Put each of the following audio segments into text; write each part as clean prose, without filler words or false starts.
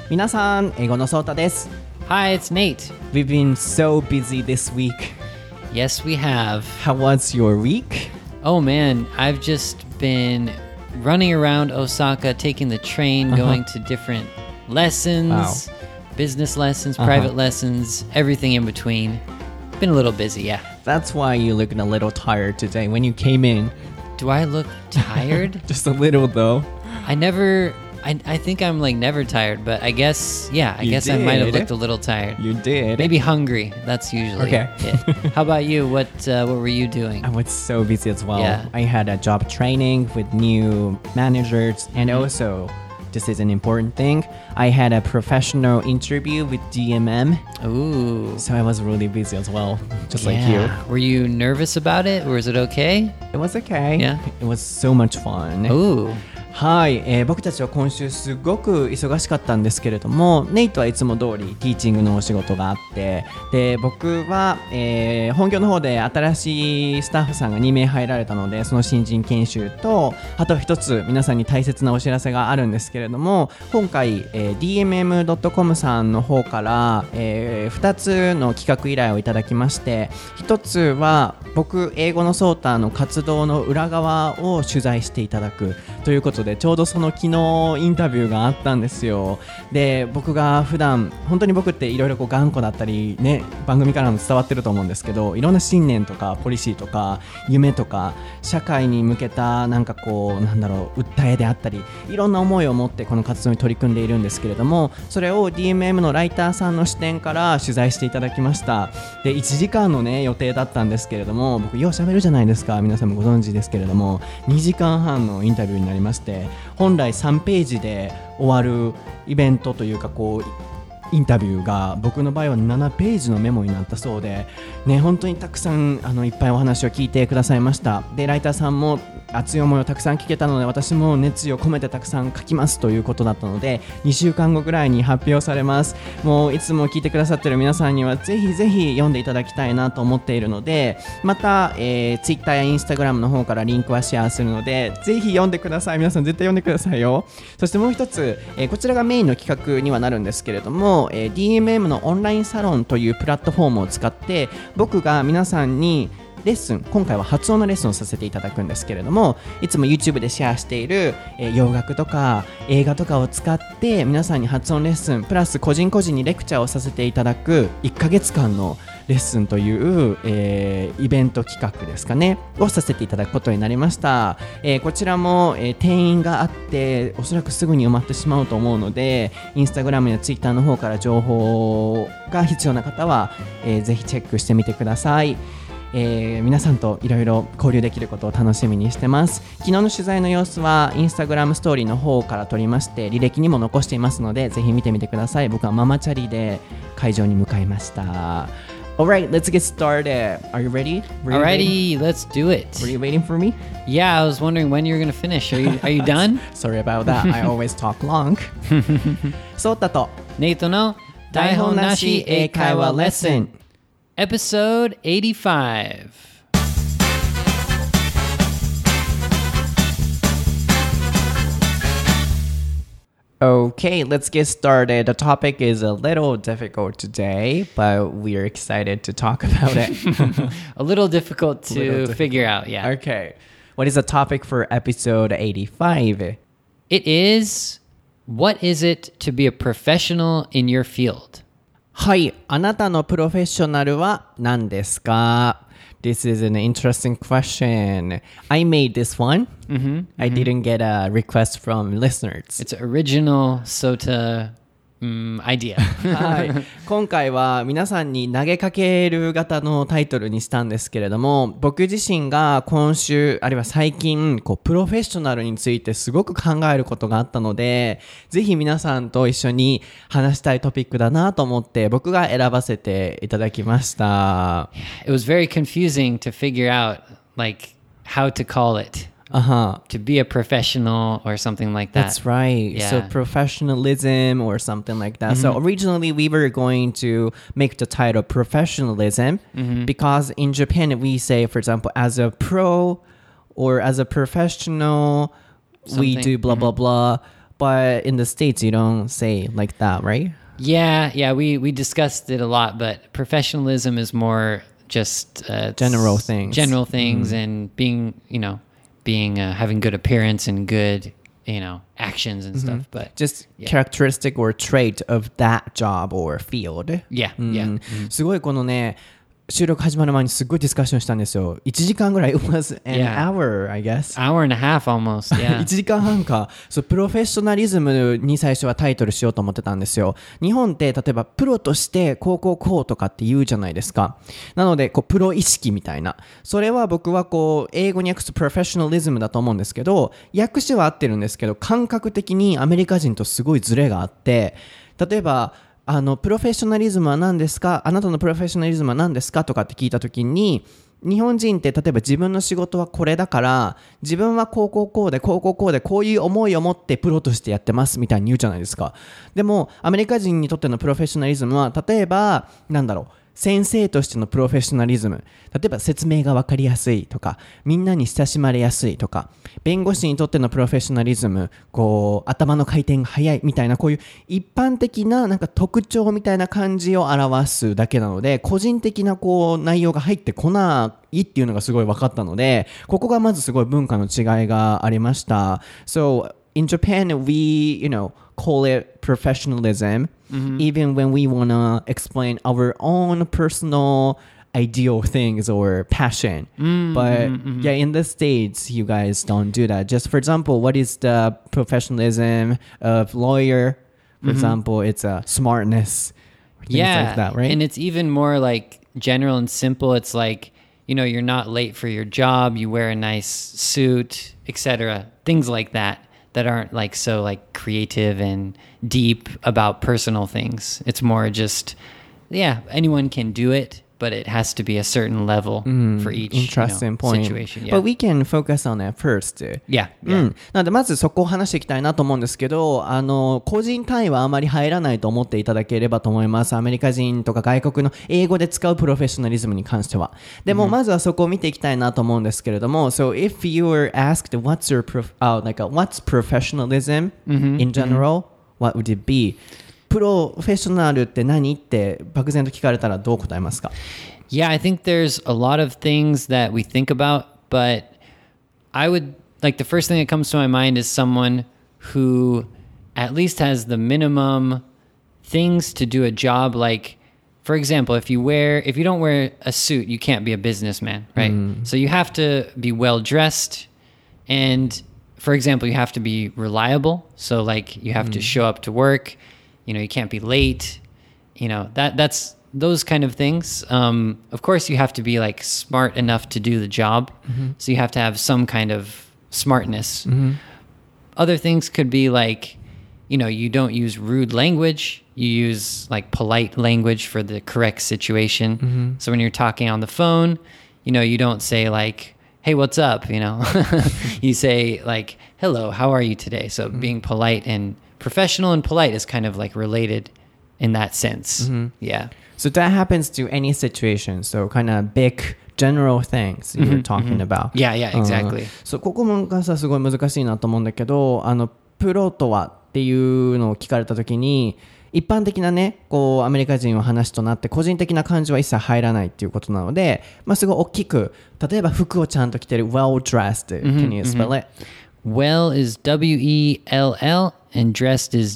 皆さん、英語のソータです。 Hi, it's Nate. We've been so busy this week. Yes, we have. How was your week? Oh man, I've just been running around Osaka, taking the train, going to different lessons, business lessons, private lessons, everything in between. Been a little busy, yeah. That's why you looked a little tired today when you came in. Do I look tired? Just a little though. I think I'm like never tired, but I guess, I You guess I might have did. looked a little tired. You did. Maybe hungry. That's usually Okay. it. How about you? What were you doing? I was so busy as well. Yeah. I had a job training with new managers and also, this is an important thing, I had a professional interview with DMM. Ooh. So I was really busy as well, just like you. Were you nervous about it, or is it okay? It was okay. Yeah. It was so much fun. Ooh. はい、僕たちは今週すごく忙しかったんですけれども、ネイトはいつも通りティーチングのお仕事があって、で僕は、本業の方で新しいスタッフさんが2名入られたので、その新人研修と、あと一つ皆さんに大切なお知らせがあるんですけれども、今回、DMM.com さんの方から、2つの企画依頼をいただきまして、1つは僕英語のソーターの活動の裏側を取材していただくということで、ちょうどその昨日インタビューがあったんですよ。で、僕が普段本当に僕っていろいろ頑固だったりね、番組からも伝わってると思うんですけど、いろんな信念とかポリシーとか夢とか社会に向けた訴えであったり、いろんな思いを持ってこの活動に取り組んでいるんですけれども、それを DMM のライターさんの視点から取材していただきました。で、1時間のね予定だったんですけれども、僕よう喋るじゃないですか、皆さんもご存知ですけれども、2時間半のインタビューになりまして、本来3ページで終わるイベントというかインタビューが僕の場合は7ページのメモになったそうで、ね、本当にたくさんいっぱいお話を聞いてくださいました。で、ライターさんも熱い思いをたくさん聞けたので、私も熱意を込めてたくさん書きますということだったので、2週間後ぐらいに発表されます。もういつも聞いてくださっている皆さんにはぜひぜひ読んでいただきたいなと思っているので、また、Twitter や Instagram の方からリンクはシェアするので、ぜひ読んでください。皆さん絶対読んでくださいよ。そしてもう一つ、こちらがメインの企画にはなるんですけれども、DMM のオンラインサロンというプラットフォームを使って僕が皆さんにレッスン、今回は発音のレッスンをさせていただくんですけれども、いつも YouTube でシェアしている、洋楽とか映画とかを使って皆さんに発音レッスンプラス個人個人にレクチャーをさせていただく1ヶ月間のレッスンという、イベント企画ですかねをさせていただくことになりました。こちらも、定員があっておそらくすぐに埋まってしまうと思うので、インスタグラムやツイッターの方から情報が必要な方は、ぜひチェックしてみてください。皆さんといろいろ交流できることを楽しみにしてます。昨日の取材の様子はインスタグラムストーリーの方から撮りまして、履歴にも残していますのでぜひ見てみてください。僕はママチャリで会場に向かいました。Alright, let's get started. Are you ready? Alrighty, let's do it. Were you waiting for me? Yeah, I was wondering when you were going to finish. Are you done? Sorry about that. I always talk long. ソータとネイトの台本なし英会話レッスン Episode 85. Okay, let's get started. The topic is a little difficult today, but we're excited to talk about it. A little difficult to figure out, yeah. Okay. What is the topic for episode 85? It is, what is it to be a professional in your field? はい、あなたのプロフェッショナルは何ですか? This is an interesting question. I made this one. I didn't get a request from listeners. It's original SOTA idea. はい、今回は皆さんに投げかける型のタイトルにしたんですけれども、僕自身が今週あるいは最近プロフェッショナルについてすごく考えることがあったので、ぜひ皆さんと一緒に話したいトピックだなと思って僕が選ばせていただきました。 It was very confusing to figure out like how to call it.To be a professional or something like that. That's right. Yeah. So professionalism or something like that. So originally we were going to make the title professionalism because in Japan we say, for example, as a pro or as a professional, we do blah, blah, blah. But in the States, you don't say like that, right? Yeah, we discussed it a lot, but professionalism is more just General things. General things and being having good appearance and good, actions and stuff, but Just characteristic or trait of that job or field. yeah. すごいこのね、収録始まる前にすごいディスカッションしたんですよ。1時間ぐらい。It was an hour, I guess. Hour and a half almost, yeah. 1時間半か。そう、プロフェッショナリズムに最初はタイトルしようと思ってたんですよ。日本って例えばプロとしてこうとかって言うじゃないですか。なので、プロ意識みたいな。それは僕は英語に訳すプロフェッショナリズムだと思うんですけど、訳詞は合ってるんですけど、感覚的にアメリカ人とすごいズレがあって、例えば、プロフェッショナリズムは何ですか？あなたのプロフェッショナリズムは何ですか？とかって聞いたときに、日本人って例えば自分の仕事はこれだから、自分はこうでこういう思いを持ってプロとしてやってますみたいに言うじゃないですか。でもアメリカ人にとってのプロフェッショナリズムは、例えば先生としてのプロフェッショナリズム、例えば説明が分かりやすいとか、みんなに親しまれやすいとか、弁護士にとってのプロフェッショナリズム、頭の回転が速いみたいな、こういう一般的な特徴みたいな感じを表すだけなので、個人的な内容が入ってこないっていうのがすごい分かったので、ここがまずすごい文化の違いがありました。So in Japan, we, call it professionalism, even when we want to explain our own personal ideal things or passion. But yeah, in the States, you guys don't do that. Just for example, what is the professionalism of lawyer? For example, it's a smartness. Things like that, right? And it's even more like general and simple. It's like, you're not late for your job. You wear a nice suit, etc. Things like that aren't so creative and deep about personal things. It's more just, anyone can do it, but it has to be a certain level for each interesting point. Situation. Yeah. But we can focus on that first. Yeah. なのでまずそこを話していきたいなと思うんですけど、個人単位はあまり入らないと思っていただければと思います。アメリカ人とか外国の英語で使うプロフェッショナリズムに関しては。でもまずはそこを見ていきたいなと思うんですけれども、So if you were asked what's professionalism in general, what would it be?プロフェッショナルって何って漠然と聞かれたらどう答えますか？ Yeah, I think there's a lot of things that we think about, but I would the first thing that comes to my mind is someone who at least has the minimum things to do a job. Like, for example, if you don't wear a suit, you can't be a businessman, right? So you have to be well dressed, and for example, you have to be reliable. So you have to show up to work.You can't be late, that's those kind of things. Of course, you have to be smart enough to do the job. So you have to have some kind of smartness. Other things could be you don't use rude language. You use polite language for the correct situation. So when you're talking on the phone, you don't say hey, what's up? You say hello, how are you today? So being polite and professional and polite is kind of related in that sense. Yeah. So that happens to any situation. So kind of big general things you're talking about. Yeah, exactly. So ここもすごい難しいなと思うんだけど、プロとはっていうのを聞かれたときに、一般的なね、アメリカ人の話となって個人的な感情は一切入らないっていうことなので、すごい大きく、例えば服をちゃんと着てる well dressed. Can you spell it? Well is W-E-L-L and dressed is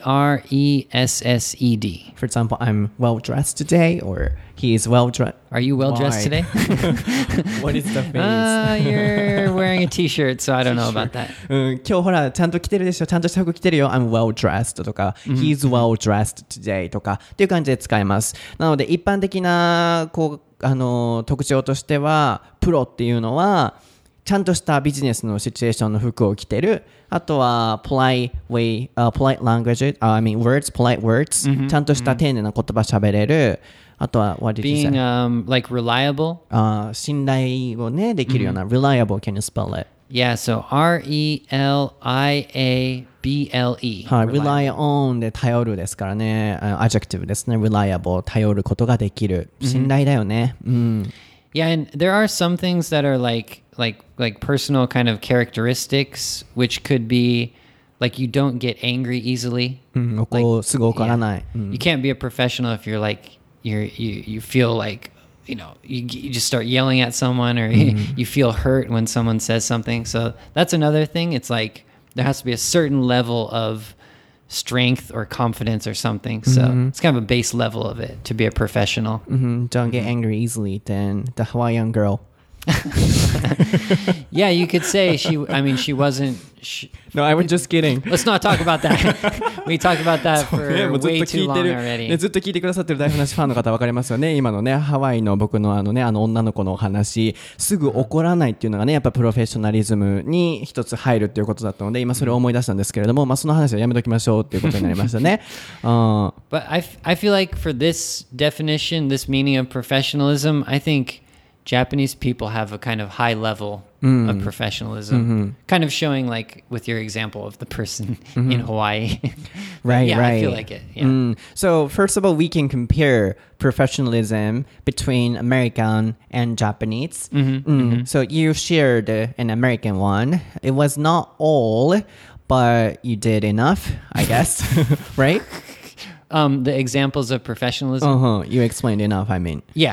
D-R-E-S-S-E-D. For example, I'm well dressed today, or he is well dressed. Are you well dressed today? What is the face? You're wearing a t-shirt, so I don't know about that. 今日ほらちゃんと着てるでしょ、ちゃんとした服着てるよ。I'm well dressed とか、He's well dressed today とかっていう感じで使います。なので一般的な特徴としては、プロっていうのはちゃんとしたビジネスのシチュエーションの服を着てる。あとはpolite language, polite words、ちゃんとした丁寧な言葉喋れる。あとは、what did you say? Being reliable. 信頼をね、できるような、reliable, can you spell it? Yeah, so R-E-L-I-A-B-L-E. はい、rely on で頼るですからね、adjective ですね、reliable 頼ることができる、信頼だよね。 Yeah, and there are some things that are like personal kind of characteristics, which could be Like you don't get angry easily. すぐ怒らない。 You can't be a professional if you're like you feel like you just start yelling at someone or you feel hurt when someone says something. So that's another thing. It's like there has to be a certain level of strength or confidence or something. So it's kind of a base level of it to be a professional. Don't get angry easily than the Hawaiian girl. Yeah, you could say she wasn't. No, I was just kidding. Let's not talk about that. We talked about that for way too long already. ずっと聞いてくださってる大話ファンの方分かりますよね。今のね、ハワイの僕のあの女の子のお話、すぐ怒らないっていうのがね、やっぱプロフェッショナリズムに一つ入るっていうことだったので、今それを思い出したんですけれども、まあその話はやめときましょうっていうことになりましたね。 But I feel like for this definition, this meaning of professionalism, I think Japanese people have a kind of high level of professionalism, kind of showing like with your example of the person in Hawaii. Right. I feel like it. Yeah. So first of all, we can compare professionalism between American and Japanese. So you shared an American one. It was not all, but you did enough, I guess. Right? The examples of professionalism. You explained enough, I mean. Yeah.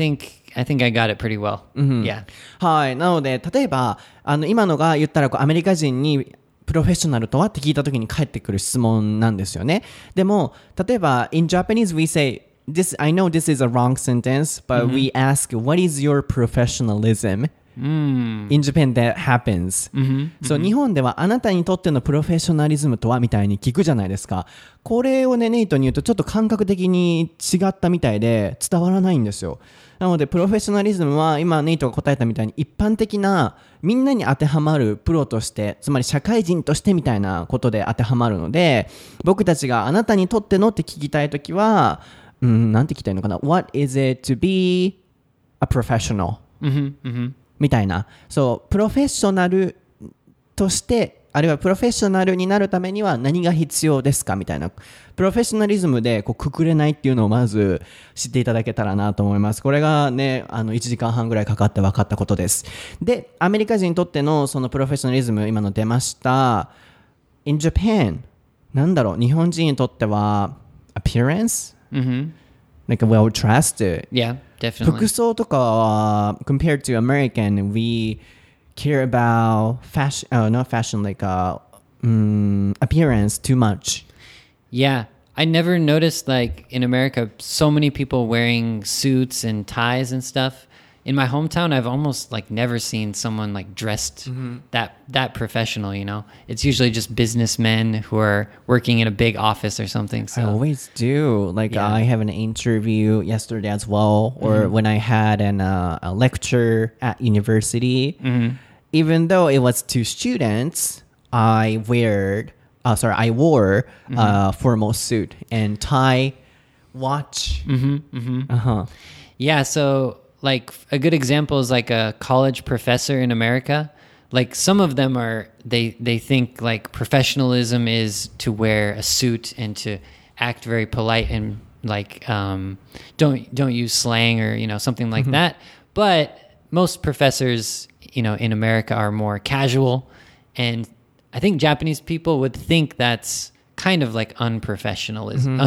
I think I got it pretty well. Yeah. はい。なので、例えば、今のが言ったらアメリカ人にプロフェッショナルとはって聞いたときに返ってくる質問なんですよね。でも、例えば、in Japanese we say, I know this is a wrong sentence, but we ask, what is your professionalism? In Japan that happens. So 日本ではあなたにとってのプロフェッショナリズムとはみたいに聞くじゃないですか。これをね、ネイトに言うとちょっと感覚的に違ったみたいで伝わらないんですよ。なのでプロフェッショナリズムは今ネイトが答えたみたいに一般的なみんなに当てはまるプロとして、つまり社会人としてみたいなことで当てはまるので、僕たちがあなたにとってのって聞きたいときは、なんて聞きたいのかな What is it to be a professional? みたいな。そう、プロフェッショナルとしてあるいはプロフェッショナルになるためには何が必要ですかみたいな。プロフェッショナリズムでこうくくれないっていうのをまず知っていただけたらなと思います。これがね、1時間半ぐらいかかって分かったことです。で、アメリカ人にとってのそのプロフェッショナリズム、今の出ました。In Japan、なんだろう、日本人にとっては appearance? Like a well dressed. Yeah, definitely. 服装とかは compared to American, we care about fashion, not fashion, like appearance too much. Yeah, I never noticed like in America so many people wearing suits and ties and stuff. In my hometown, I've almost like never seen someone like dressed that professional, you know. It's usually just businessmen who are working in a big office or something. So I always do. Like I have an interview yesterday as well, or when I had a lecture at university. Even though it was to students, I wore a formal suit and tie, watch. Yeah, so like a good example is like a college professor in America. Like some of them they think like professionalism is to wear a suit and to act very polite and like don't use slang or something like that. But most professors in America are more casual, and I think Japanese people would think that's kind of like unprofessional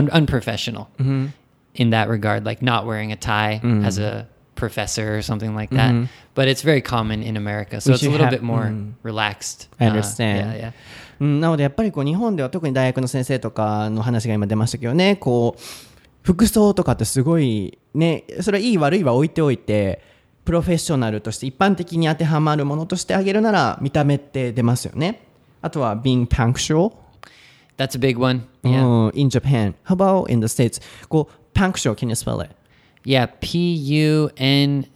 in that regard, like not wearing a tie as a professor or something like that. But it's very common in America, so it's a little bit more relaxed. I understand. なのでやっぱりこう日本では特に大学の先生とかの話が今出ましたけどね、こう服装とかってすごいね、それはいい悪いは置いておいて、プロフェッショナルとして一般的に当てはまるものとしてあげるなら見た目って出ますよね。あとは being punctual. That's a big one. Yeah. In Japan. How about in the States? こう punctual, can you spell it? Yeah, Punctual.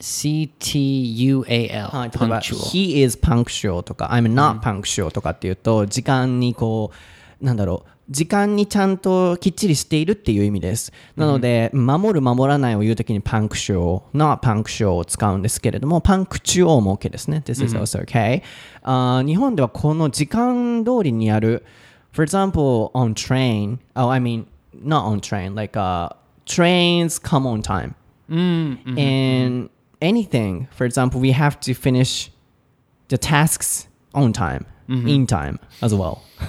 Punctual. He is punctual とか I'm not punctual とかっていうと時間にこうなんだろう時間にちゃんときっちりしているっていう意味です。なので、守る守らないを言うときに punctual, not punctual を使うんですけれども、punctual も OK ですね。This is also okay. 日本ではこの時間通りにやる For example, on train, I mean, not on train, like trains come on time. And anything, for example, we have to finish the tasks on time, in time as well.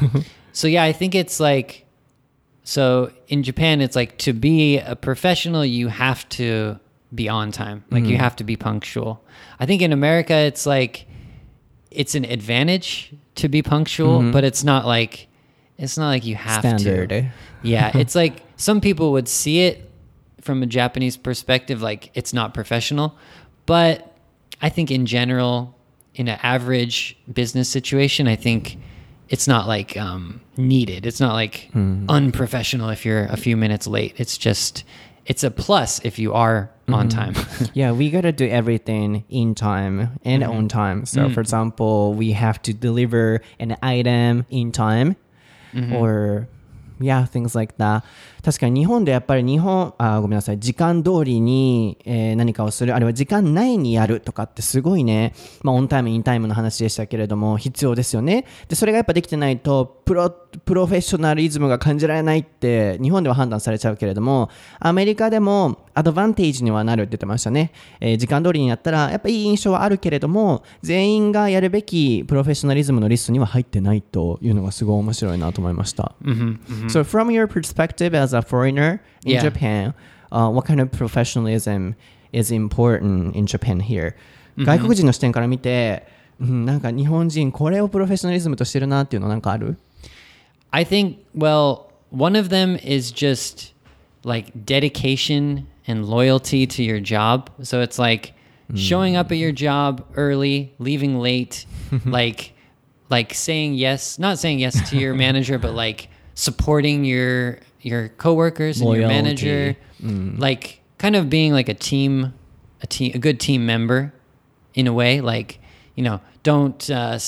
So yeah, I think it's like, so in Japan, it's like to be a professional, you have to be on time. Like you have to be punctual. I think in America, it's like, it's an advantage to be punctual, but it's not like you have Standard. to. Yeah, it's like some people would see it from a Japanese perspective, like it's not professional. But I think in general, in an average business situation, I think it's not like needed. It's not like unprofessional if you're a few minutes late. It's just, it's a plus if you are on time. Yeah, we gotta do everything in time and on time. So, for example, we have to deliver an item in time, or yeah, things like that. 確かに日本でやっぱりごめんなさい、時間通りに、何かをする、あるいは時間内にやるとかってすごいね、まあオンタイム、インタイムの話でしたけれども、必要ですよね。で、それがやっぱできてないと、プロフェッショナリズムが感じられないって日本では判断されちゃうけれども、アメリカでもアドバンテージにはなるって言ってましたね。時間通りにやったら、やっぱいい印象はあるけれども、全員がやるべきプロフェッショナリズムのリストには入ってないというのがすごい面白いなと思いました。So from your perspective as a foreigner in Japan, what kind of professionalism is important in Japan here? 外国人の視点から見て、なんか日本人これをプロフェッショナリズムとしてるなっていうのなんかある？ I think, well, one of them is just like dedication and loyalty to your job. So it's like showing up at your job early, leaving late, like saying yes, not saying yes to your manager, but like supporting your coworkers and your manager, like kind of being like a good team member in a way. Like, you know, don't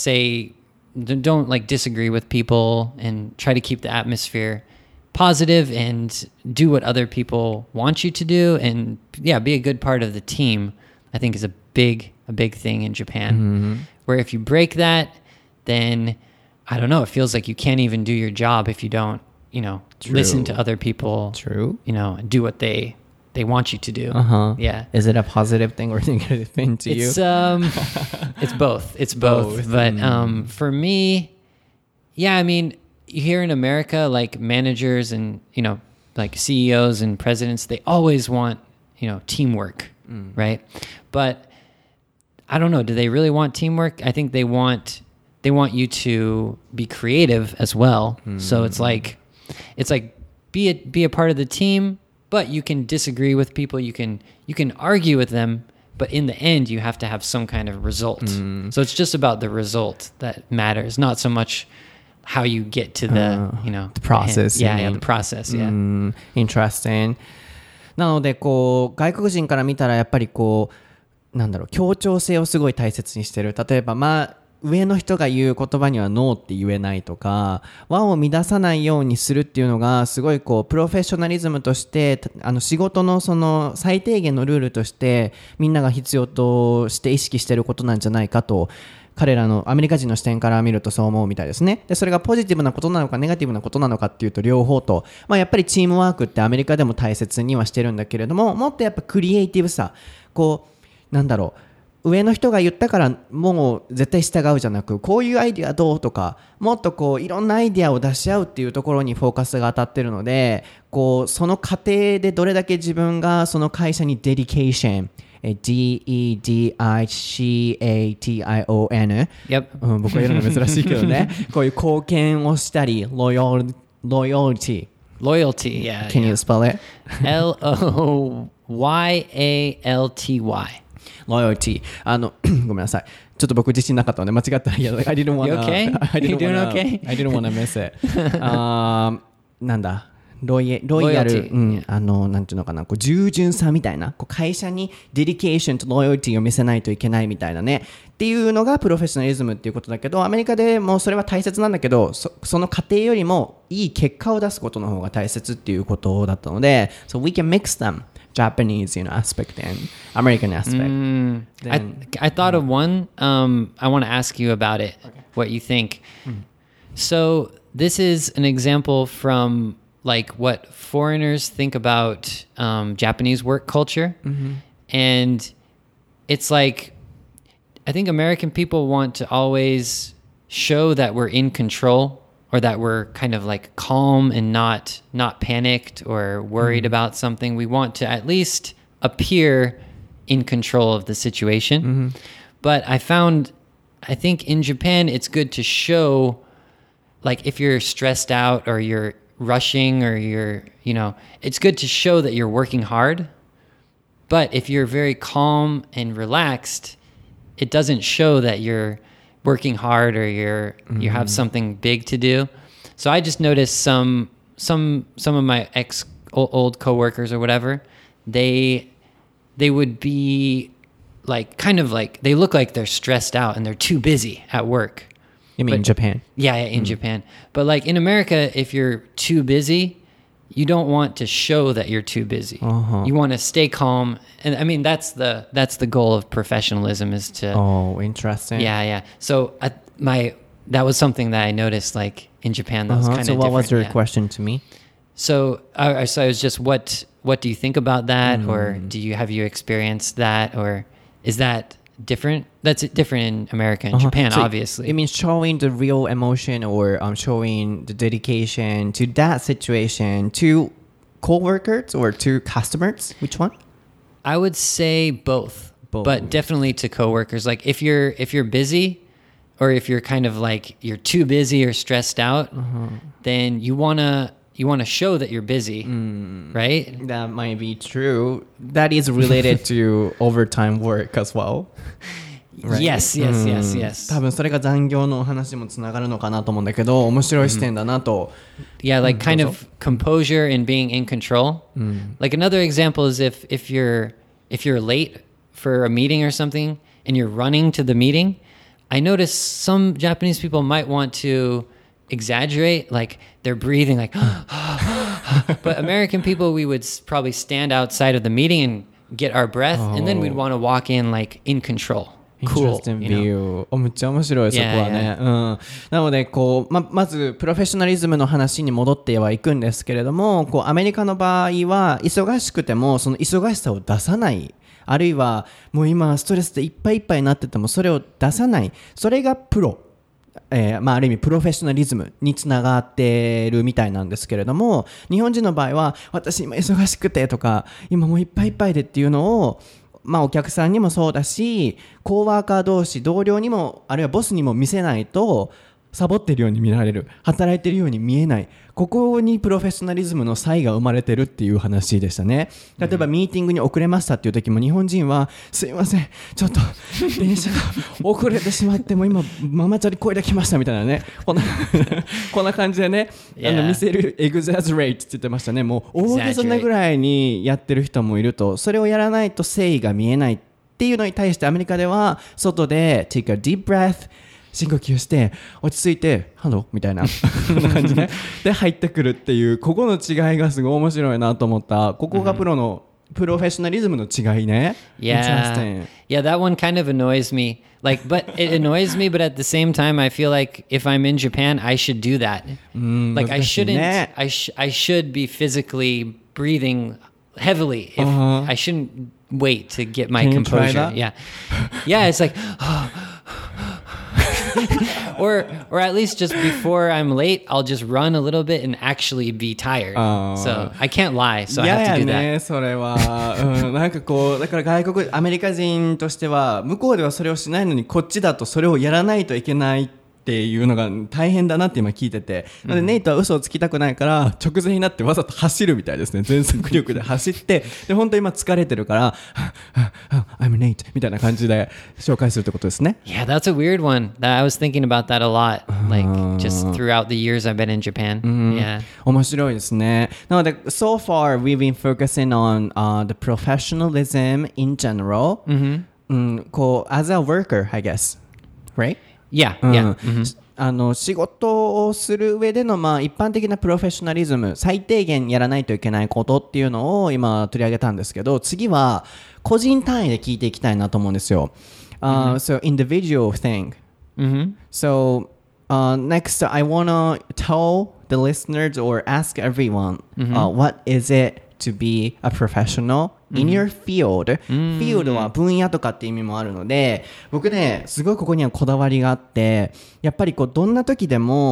like disagree with people and try to keep the atmosphere positive and do what other people want you to do, and yeah, be a good part of the team. I think is a big thing in Japan, where if you break that, then I don't know, it feels like you can't even do your job if you don't, you know, listen to other people, you know, and do what they want you to do. Yeah. Is it a positive thing or negative thing to you? It's both. It's both. But for me, yeah, I mean, here in America, like managers and, you know, like CEOs and presidents, they always want, you know, teamwork, right? But I don't know, do they really want teamwork? I think they want you to be creative as well. So it's like be a part of the team, but you can disagree with people, you can argue with them, but in the end you have to have some kind of result. So it's just about the result that matters, not so much how you get to the, you know, the process. Yeah, the process. Yeah. Interesting. なのでこう外国人から見たらやっぱりこうなんだろう、協調性をすごい大切にしてる。例えば上の人が言う言葉にはノーって言えないとか、和を乱さないようにするっていうのがすごいこうプロフェッショナリズムとして仕事のその最低限のルールとしてみんなが必要として意識してることなんじゃないかと、彼らのアメリカ人の視点から見るとそう思うみたいですね。でそれがポジティブなことなのかネガティブなことなのかっていうと両方と、やっぱりチームワークってアメリカでも大切にはしてるんだけれども、もっとやっぱクリエイティブさ、こうなんだろう、上の人が言ったからもう絶対従うじゃなく、こういうアイディアどうとか、もっとこういろんなアイディアを出し合うっていうところにフォーカスが当たってるので、こうその過程でどれだけ自分がその会社にデディケーション、dedication、僕は言うのが珍しいけどねこういう貢献をしたり、loyalty. Loyalty, yeah. Can you spell it? Loyalty. Loyalty. ごめんなさい。ちょっと僕自信なかったので間違ったら、I didn't wanna. You okay? You doing okay? I didn't wanna miss it. なんだ。ロイヤル、なんていうのかな、こう従順さみたいな、こう会社にデディケーションとロイヤリティを見せないといけないみたいなね、っていうのがプロフェッショナリズムっていうことだけど、アメリカでもそれは大切なんだけど、その過程よりもいい結果を出すことの方が大切っていうことだったので、so we can mix them, Japanese, aspect and American aspect. I thought of one. I want to ask you about it. Okay. What you think? So this is an example from like what foreigners think about Japanese work culture. And it's like, I think American people want to always show that we're in control or that we're kind of like calm and not panicked or worried about something. We want to at least appear in control of the situation. But I think in Japan it's good to show, like if you're stressed out or you're rushing or it's good to show that you're working hard. But if you're very calm and relaxed, it doesn't show that you're working hard or you have something big to do. So I just noticed some of my old coworkers or whatever, they would be like kind of like they look like they're stressed out and they're too busy at work. You mean in Japan? Yeah, in Japan. But like in America, if you're too busy, you don't want to show that you're too busy. You want to stay calm. And I mean, that's the goal of professionalism is to... Oh, interesting. Yeah. So that was something that I noticed like in Japan that was kind of different. So what was your question to me? So I was just, what do you think about that? Or have you experienced that? Or is that different? That's different in America and Japan, so obviously. It means showing the real emotion or showing the dedication to that situation to co-workers or to customers. Which one? I would say both. But definitely to coworkers. Like if you're busy or if you're kind of like you're too busy or stressed out, then you want to show that you're busy, right? That might be true. That is related to overtime work as well. Right? Yes. 多分それが残業の話もつながるのかなと思うんだけど、面白い視点だなと。 Yeah, like kind of composure and being in control. Like another example is if you're late for a meeting or something and you're running to the meeting, I notice some Japanese people might want to exaggerate, like they're breathing like but American people, we would probably stand outside of the meeting and get our breath, and then we'd want to walk in like in control. Cool. Interesting view. めっちゃ面白いそこはね。なのでこうまずプロフェッショナリズムの話に戻ってはいくんですけれども、こうアメリカの場合は忙しくてもその忙しさを出さない。あるいはもう今ストレスでいっぱいいっぱいになっててもそれを出さない。それがプロ。ある意味プロフェッショナリズムにつながってるみたいなんですけれども、日本人の場合は私今忙しくてとか今もういっぱいいっぱいでっていうのをお客さんにもそうだしコーワーカー同士同僚にもあるいはボスにも見せないとサボってるように見られる、働いてるように見えない、ここにプロフェッショナリズムの差異が生まれてるっていう話でしたね。例えばミーティングに遅れましたっていう時も日本人はすいませんちょっと電車が遅れてしまっても今ママチャリこいできましたみたいなね、こんな感じでね、見せるエグザジュレイトって言ってましたね。もう大げさなぐらいにやってる人もいると、それをやらないと誠意が見えないっていうのに対してアメリカでは外で take a deep breath深呼吸して落ち着いてハローみたいな感じで入ってくるっていう、ここの違いがすごい面白いなと思った。ここがプロフェッショナリズムの違いね。 Yeah, that one kind of annoys me. Like, but it annoys me, but at the same time, I feel like if I'm in Japan, I should do that. Like, I shouldn't. I should be physically breathing heavily. If I shouldn't wait to get my composure. Yeah, it's like. or at least just before I'm late, I'll just run a little bit and actually be tired. So I can't lie, so I have to do that. ね、それは、なんかこうだからアメリカ人としては向こうではそれをしないのにこっちだとそれをやらないといけないっていうのが大変だなって今聞いてて、なのでネイトは嘘をつきたくないから直前になってわざと走るみたいですね。全速力で走ってで本当今疲れてるからI'm Nate みたいな感じで紹介するってことですね。 Yeah, that's a weird one. I was thinking about that a lot, like just throughout the years I've been in Japan. Yeah. 面白いですね。なので so far we've been focusing on、the professionalism in general. こう as a worker, I guess, right? Yeah. 仕事をする上での、一般的なプロフェッショナリズム、最低限やらないといけないことっていうのを今取り上げたんですけど、次は個人単位で聞いていきたいなと思うんですよ。So individual thing. So next I wanna tell the listeners or ask everyone, what is it to be a professional in your field. field は分野とかって意味もあるので、僕ねすごいここにはこだわりがあって、やっぱりこうどんな時でも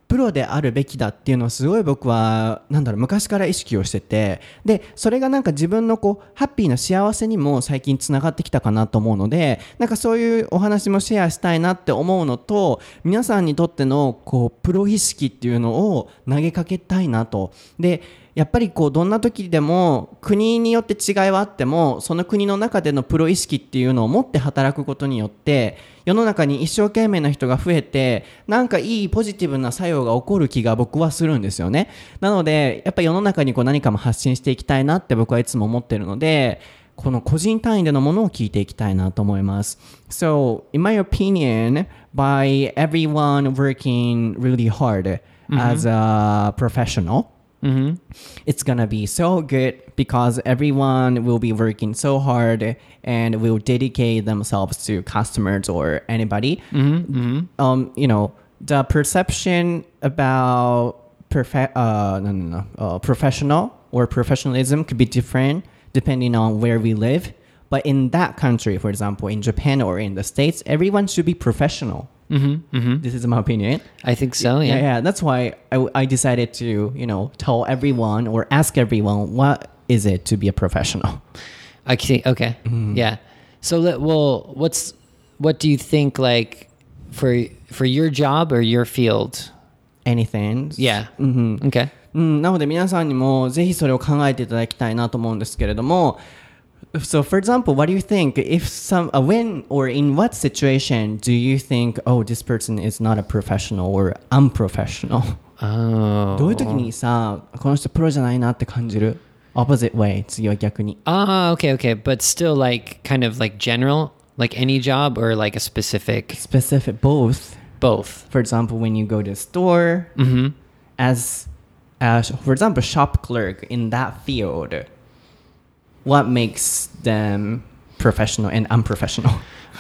プロであるべきだっていうのをすごい僕は昔から意識をしてて、でそれが自分のハッピーな幸せにも最近つながってきたかなと思うので、そういうお話もシェアしたいなって思うのと、皆さんにとってのプロ意識っていうのを投げかけたいなと。でやっぱりどんな時でも国によって違いはあっても、その国の中でのプロ意識っていうのを持って働くことによって世の中に一生懸命な人が増えて、いいポジティブな作用が起こる気が僕はするんですよね。なのでやっぱり世の中に何かも発信していきたいなって僕はいつも思ってるので、この個人単位でのものを聞いていきたいなと思います。So, in my opinion, by everyone working really hard as a professional,、it's gonna be so good because everyone will be working so hard and will dedicate themselves to customers or anybody. The perception about professional or professionalism could be different depending on where we live. But in that country, for example, in Japan or in the States, everyone should be professional.This is my opinion. I think so, yeah. Yeah, that's why I decided to, tell everyone or ask everyone, what is it to be a professional? I see. Okay. Yeah. So, what do you think, for your job or your field? Anything. Yeah. Okay. なので皆さんにもぜひそれを考えていただきたいなと思うんですけれども、So, for example, what do you think if when or in what situation do you think, oh, this person is not a professional or unprofessional? どういう時にさ、この人プロじゃないなって感じる？ Opposite way, 次は逆に。 Okay. But still kind of general, any job or a specific? Specific, both. Both. For example, when you go to a store, as for example, shop clerk in that field.What makes them professional and unprofessional?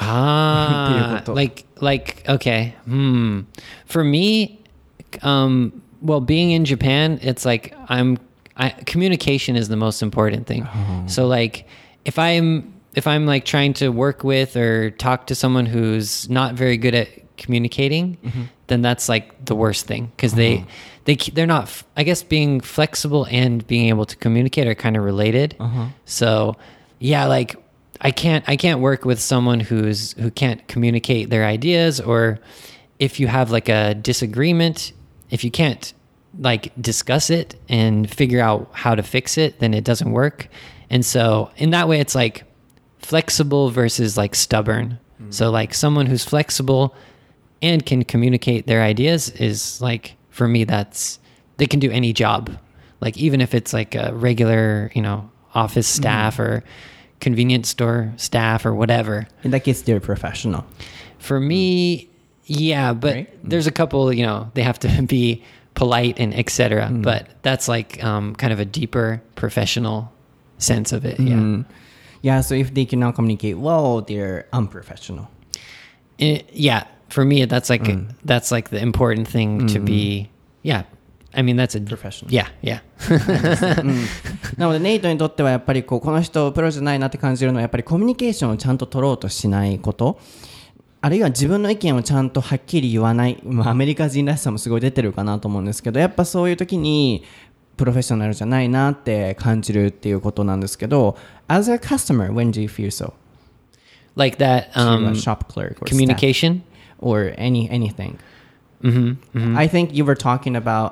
Okay. For me, being in Japan, it's communication is the most important thing. So if I'm trying to work with or talk to someone who's not very good at communicating, then that's the worst thing because they're not, I guess being flexible and being able to communicate are kind of related. So yeah, I can't work with someone who can't communicate their ideas, or if you have a disagreement, if you can't discuss it and figure out how to fix it, then it doesn't work. And so in that way, it's flexible versus stubborn. So someone who's flexible and can communicate their ideas is for me, they can do any job. Even if it's a regular, office staff or convenience store staff or whatever. In that case, they're professional. For me, yeah, but right? There's a couple, they have to be polite and etc. But that's kind of a deeper professional sense of it. Yeah. Yeah, so if they cannot communicate well, they're unprofessional. Yeah. For me, that's that's the important thing to be. Yeah, I mean that's a professional. Yeah. なのでネイトにとってはやっぱりこの人プロじゃないなって感じるのはやっぱりコミュニケーションをちゃんと取ろうとしないこと、あるいは自分の意見をちゃんとはっきり言わない、アメリカ人らしさもすごい出てるかなと思うんですけど、やっぱそういう時にプロフェッショナルじゃないなって感じるっていうことなんですけど、as a customer, when do you feel so? Like that shop clerk or communication or anything. I think you were talking about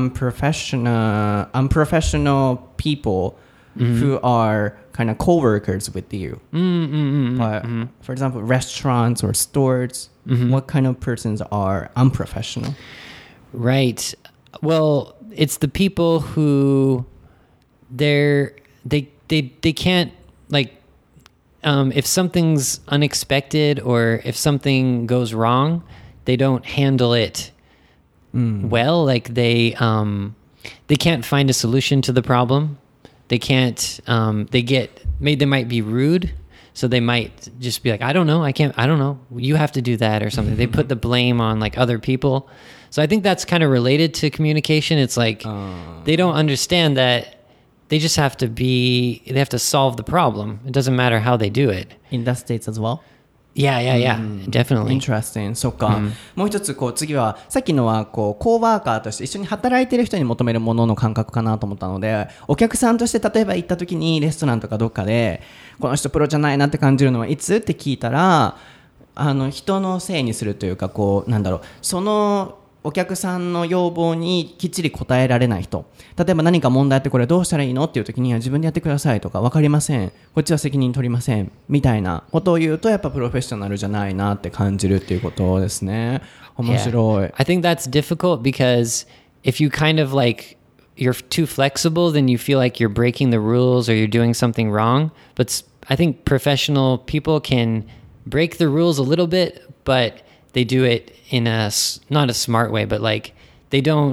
unprofessional people who are kind of co-workers with you. But for example, restaurants or stores, what kind of persons are unprofessional? Right. Well, it's the people who they can't if something's unexpected or if something goes wrong, they don't handle it well. They can't find a solution to the problem. They can't. They might be rude, so they might just be like, I don't know. You have to do that or something. They put the blame on other people. So I think that's kind of related to communication. It's they don't understand that. They just they have to solve the problem. It doesn't matter how they do it. In the States as well? Definitely. Interesting. そっか、もう一つ次はさっきのはコーワーカーとして一緒に働いてる人に求めるものの感覚かなと思ったので、お客さんとして例えば行った時にレストランとかどっかでこの人プロじゃないなって感じるのはいつって聞いたら、人のせいにするというかそのお客さんの要望にきっちり応えられない人、例えば何か問題あってこれどうしたらいいのっていう時には自分でやってくださいとか、分かりません、こっちは責任取りませんみたいなことを言うと、やっぱプロフェッショナルじゃないなって感じるっていうことですね。面白い。 I think that's difficult because if you kind of like you're too flexible, then you feel like you're breaking the rules or you're doing something wrong. But I think professional people can break the rules a little bit, but they do it in not a smart way, but like they don't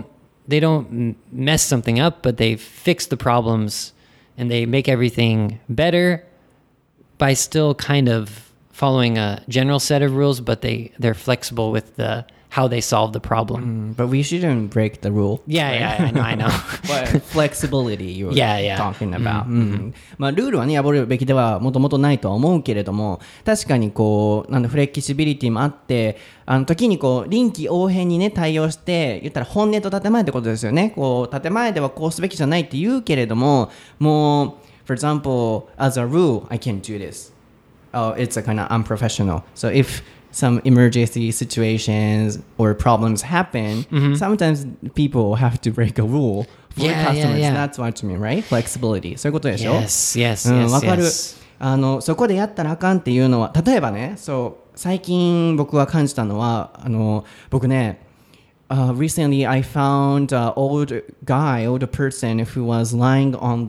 mess something up, but they fix the problems and they make everything better by still kind of following a general set of rules, but they're flexible with how they solve the problem. But we shouldn't break the rule. Yeah, I know. But flexibility you were talking about. まあルールはね破るべきではもともとないとは思うけれども、確かにフレキシビリティもあって、時に臨機応変にね対応して、言ったら本音と建前ってことですよね。建前ではこうすべきじゃないって言うけれども、もう for example as a rule I can't do this. Oh, it's a kind of unprofessional. So if some emergency situations or problems happen, sometimes people have to break a rule for customers. That's what you mean, right? Flexibility. そういうことでしょ？ Yes. わかる。そこでやったらあかんっていうのは、例えばね、最近僕が感じたのは、僕ね、recently I found an old person who was lying on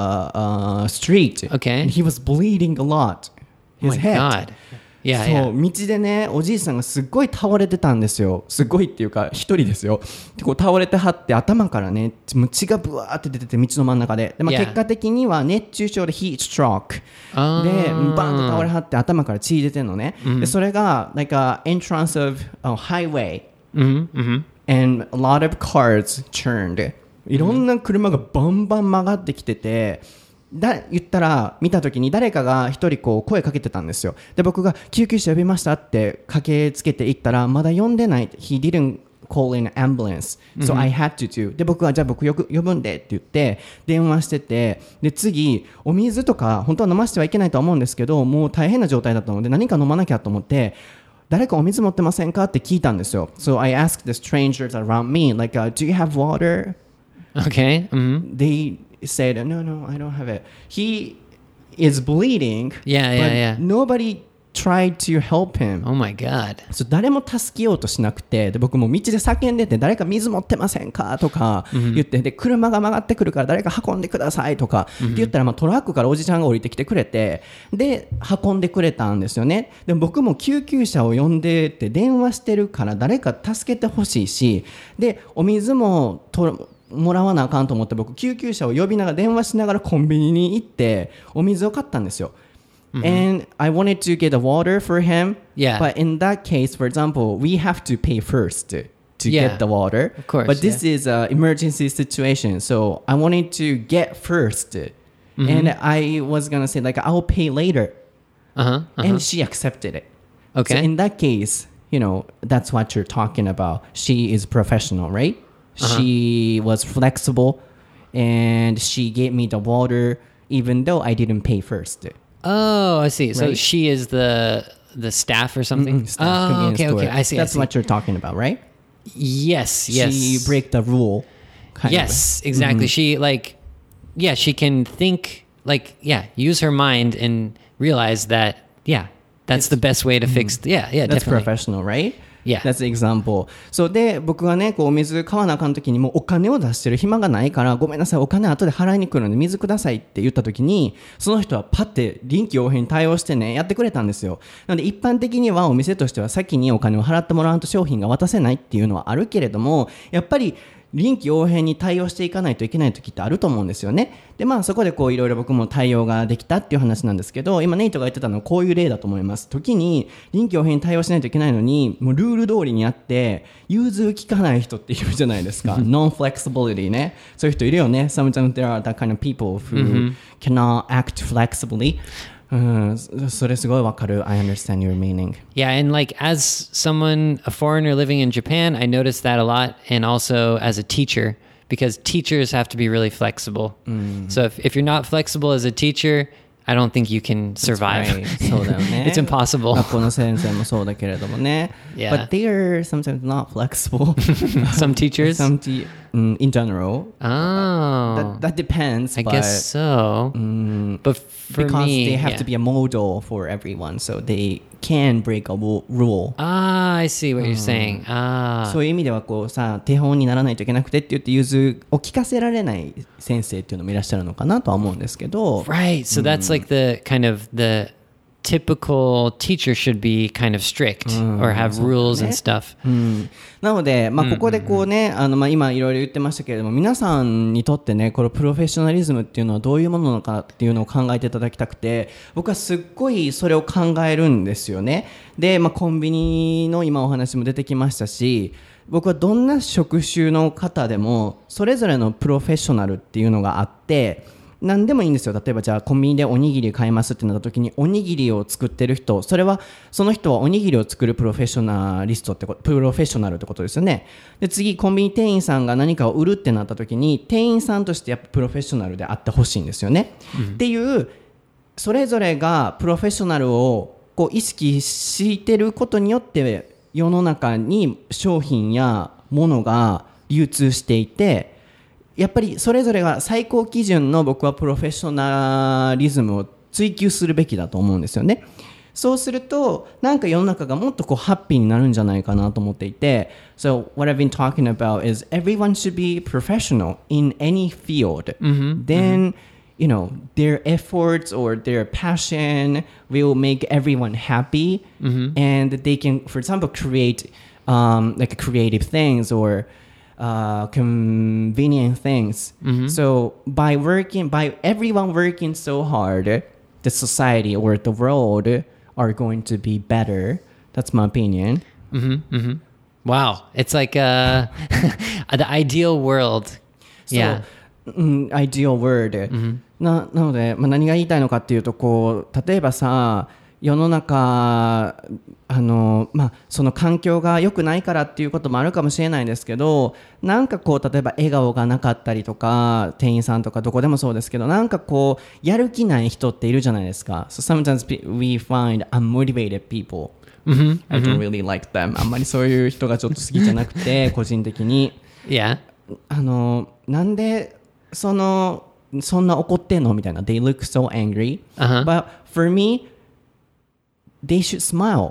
the street. Okay. And he was bleeding a lot. His head. Oh my God. そう、道でねおじいさんがすっごい倒れてたんですよ。すごいっていうか一人ですよ。で倒れてはって頭からね血がブワーって出てて道の真ん中で、結果的には熱中症でヒートストロークでバンと倒れはって頭から血出てるのね。でそれがlike a entrance of a highway and a lot of cars turned。いろんな車がバンバン曲がってきてて、言ったら見た時に誰かが一人声かけてたんですよ。で僕が救急車呼びましたって駆けつけて行ったら、まだ呼んでない。 He didn't call in ambulance, so I had to do。 で僕はじゃあ僕呼ぶんでって言って電話してて、で次お水とか本当は飲ませてはいけないと思うんですけど、もう大変な状態だったので何か飲まなきゃと思って、誰かお水持ってませんかって聞いたんですよ。 So I asked the strangers around me like, do you have water? Okay. They said, no, I don't have it. He is bleeding. Yeah. Nobody tried to help him. Oh my God. 誰も助けようとしなくて、で僕も道で叫んでて、誰か水持ってませんかとか言って、で車が曲がってくるから誰か運んでくださいとかって言ったら、トラックからおじちゃんが降りてきてくれて、で運んでくれたんですよね。で僕も救急車を呼んでって電話してるから誰か助けてほしいし、でお水ももらわなあかんと思って、僕救急車を呼びながら電話しながらコンビニに行ってお水を買ったんですよ。And I wanted to get a water for him. But in that case, for example, we have to pay first to get the water. Of course. But this is an emergency situation, so I wanted to get first. And I was gonna say like I'll pay later. And she accepted it. Okay. So in that case, that's what you're talking about. She is professional, right? She was flexible and she gave me the water even though I didn't pay first. Oh, I see. So Right. she is the staff or something? Staff Oh, convenience okay. store. I see. That's what you're talking about, right? Yes. She break the rule. Kind Yes, exactly. She she can think use her mind and realize that that's the best way to fix. That's Definitely. professional, right? Yeah. That's the example. そうで僕がねお水買わなあかん時にもうお金を出してる暇がないから、ごめんなさいお金後で払いに来るので水くださいって言った時に、その人はパッて臨機応変に対応してねやってくれたんですよ。なので一般的にはお店としては先にお金を払ってもらわんと商品が渡せないっていうのはあるけれども、やっぱり臨機応変に対応していかないといけない時ってあると思うんですよね。でそこでいろいろ僕も対応ができたっていう話なんですけど、今ネイトが言ってたのはこういう例だと思います。時に臨機応変に対応しないといけないのに、もうルール通りにやって融通きかない人っているじゃないですか。Non-flexibility ね。そういう人いるよね。Sometimes there are that kind of people who cannot act flexibly. それすごいわかる。I understand your meaning. Yeah, and like as someone, a foreigner living in Japan, I noticed that a lot, and also as a teacher, because teachers have to be really flexible. So if you're not flexible as a teacher, I don't think you can survive. Right. そうだよね。 It's impossible. 学校の先生もそうだけれどもね。 Yeah. But they are sometimes not flexible. Some teachers? In general. Oh. That depends. I guess so. But for because me, they have yeah. to be a model for everyone, so they can break a rule. Ah, I see what you're saying. そういう意味ではこうさ、手本にならないといけなくてって言って融通を聞かせられない先生っていうのもいらっしゃるのかなとは思うんですけど。 Right. So that's like the kind of the typical teacher should be kind of strict or have rules and stuff. なので、ここでこうね、今いろいろ言ってましたけれども、皆さんにとってね、このプロフェッショナリズムっていうのはどういうものなのかっていうのを考えていただきたくて、僕はすっごいそれを考えるんですよね。で、コンビニの今お話も出てきましたし、僕はどんな職種の方でもそれぞれのプロフェッショナルっていうのがあって、何でもいいんですよ。例えばじゃあコンビニでおにぎり買いますってなった時におにぎりを作ってる人、その人はおにぎりを作るプロフェッショナリストってプロフェッショナルってことですよね。で次コンビニ店員さんが何かを売るってなった時に店員さんとしてやっぱプロフェッショナルであってほしいんですよね、っていうそれぞれがプロフェッショナルをこう意識してることによって世の中に商品やものが流通していて、やっぱりそれぞれが最高基準の僕はプロフェッショナリズムを追求するべきだと思うんですよね。そうするとなんか世の中がもっとこうハッピーになるんじゃないかなと思っていて、 So what I've been talking about is everyone should be professional in any field. Then you know their efforts or their passion will make everyone happy, and they can, for example, create like creative things or convenient things. So by everyone working so hard, the society or the world are going to be better. That's my opinion. Wow. It's like the ideal world. Yeah. Ideal world. なので、何が言いたいのかっていうと、こう例えばさ、世の中その環境が良くないからっていうこともあるかもしれないんですけど、なんかこう例えば笑顔がなかったりとか、店員さんとかどこでもそうですけど、なんかこうやる気ない人っているじゃないですか。So sometimes we find unmotivated people. I don't really like them. あんまりそういう人がちょっと好きじゃなくて個人的に。 Yeah. なんでそんな怒ってんのみたいな。They look so angry. But for me, they should smile.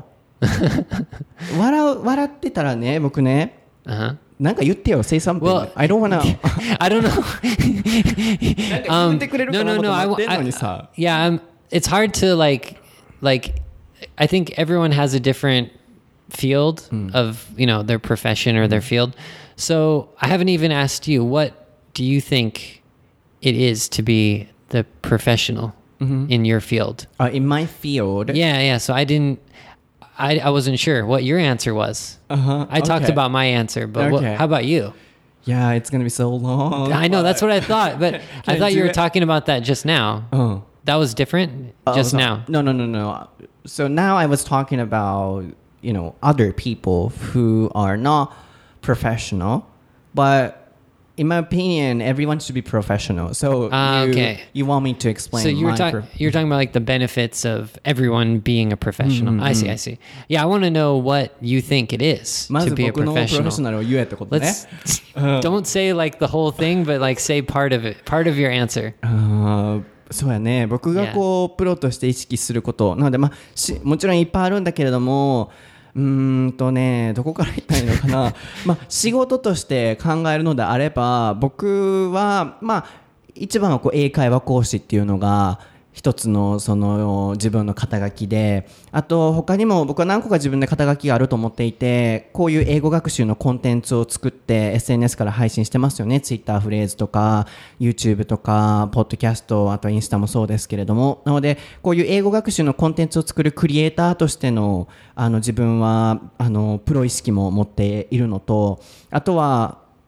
笑ってたらね、僕ね、なんか言ってよ、say something. Well, I don't wanna. I don't know. なんか言ってくれるかなと思ってんのにさ。 Yeah, it's hard to like. I think everyone has a different field of their profession or their field. So I haven't even asked you, what do you think it is to be the professional in your field? In my field? Yeah. So I wasn't sure what your answer was. I talked about my answer, but how about you? Yeah, it's going to be so long. I know, that's what I thought, but I thought you were talking about that just now. That was different just now. No. So now I was talking about, other people who are not professional, but in my opinion, everyone should be professional. So you want me to explain? So you're talking about like the benefits of everyone being a professional. I see. Yeah, I want to know what you think it is to be a professional. Let's don't say like the whole thing, but like say part of it, part of your answer. そうやね。僕がこうプロとして意識することなので、もちろんいっぱいあるんだけれども、どこから言ったらいいのかな。仕事として考えるのであれば、僕は一番はこう英会話講師っていうのが一つのその自分の肩書きで、あと他にも僕は何個か自分で肩書きがあると思っていて、こういう英語学習のコンテンツを作って SNS から配信してますよね。Twitter フレーズとか YouTube とかポッドキャスト、あとインスタもそうですけれども、なのでこういう英語学習のコンテンツを作るクリエイターとしての自分はプロ意識も持っているのと、あとは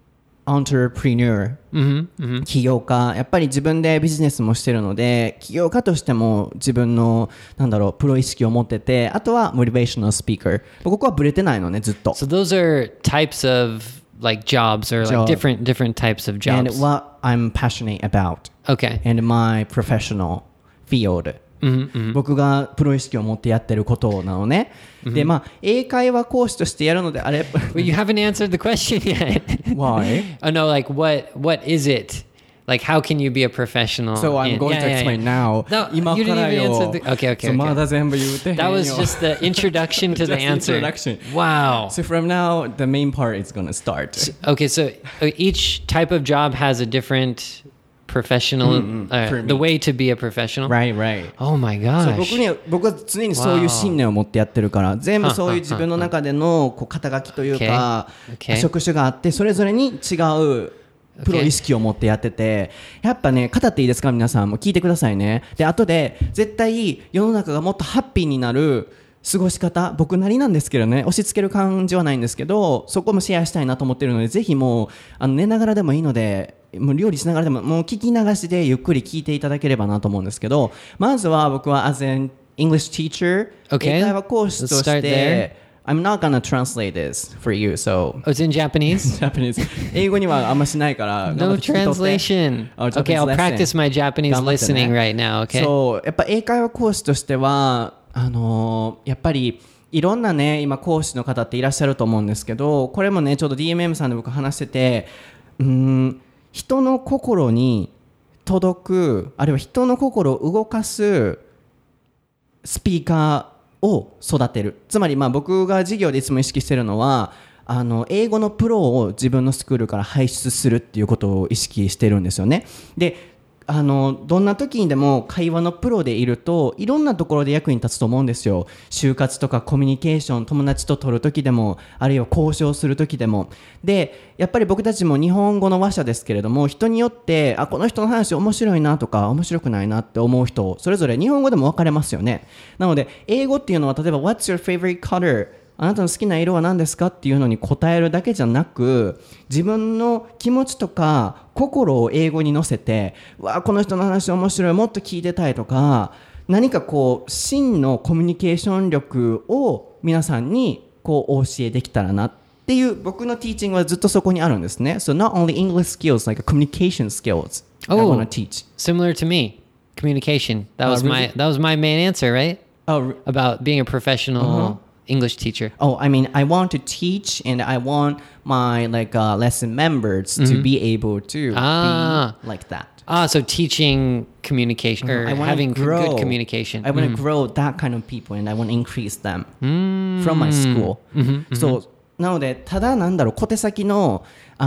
entrepreneur、起業家、やっぱり自分でビジネスもしてるので、起業家としても自分のプロ意識を持ってて、あとはモチベーショナルスピーカー。ここはブレてないのね、ずっと。 So those are types of like jobs or like different types of jobs. And what I'm passionate about. Okay. And my professional field. 僕がプロ意識を持ってやってることなのね。で、英会話講師としてやるのであれば。 Well, you haven't answered the question yet. Why? Oh no, like what is it? Like how can you be a professional? So I'm going to explain now. No, you didn't even answer the... Okay. まだ全部言うてへんよ。 That was just the introduction to the answer. Introduction. Wow. So from now, the main part is going to start. Okay, so each type of job has a different professional, the way to be a professional. Right. Oh my gosh. 僕は常にそういう信念を持ってやってるから、全部そういう自分の中での肩書きというか、職種があって、それぞれに違うプロ意識を持ってやってて、やっぱね、語っていいですか皆さんも聞いてくださいね。で、後で絶対世の中がもっとハッピーになる過ごし方、僕なりなんですけどね、押し付ける感じはないんですけど、そこもシェアしたいなと思ってるので、ぜひもう寝ながらでもいいので、もう料理しながらでももう聞き流しでゆっくり聞いていただければなと思うんですけど、まずは僕は as an English teacher、英会話講師として、I'm not gonna translate this for you, so. Oh, it's in Japanese? Japanese. 英語にはあんましないから。 No translation. Okay, I'll practice my Japanese listening right now, okay? そう、やっぱ英会話講師としては、やっぱりいろんなね、今講師の方っていらっしゃると思うんですけど、これもね、ちょうど DMM さんで僕話してて、人の心に届く、あるいは人の心を動かすスピーカーを育てる。つまり僕が授業でいつも意識してるのは英語のプロを自分のスクールから輩出するっていうことを意識してるんですよね。でどんな時にでも会話のプロでいるといろんなところで役に立つと思うんですよ。就活とかコミュニケーション、友達と取る時でも、あるいは交渉する時でも。でやっぱり僕たちも日本語の話者ですけれども、人によってこの人の話面白いなとか面白くないなって思う人それぞれ日本語でも分かれますよね。なので英語っていうのは例えば What's your favorite color?あなたの好きな色は何ですかっていうのに答えるだけじゃなく、自分の気持ちとか心を英語に乗せて、この人の話面白い、もっと聞いてたいとか、何か真のコミュニケーション力を皆さんにお教えできたらなっていう僕のティーチングはずっとそこにあるんですね。So not only English skills, like communication skills I want to teach. Similar to me, communication. That was my main answer, right? About being a professional、English teacher. I mean, I want to teach, and I want my lesson members to be able to be like that. So teaching communication or having good communication. I want to grow that kind of people, and I want to increase them from my school. So なのでただ小手先の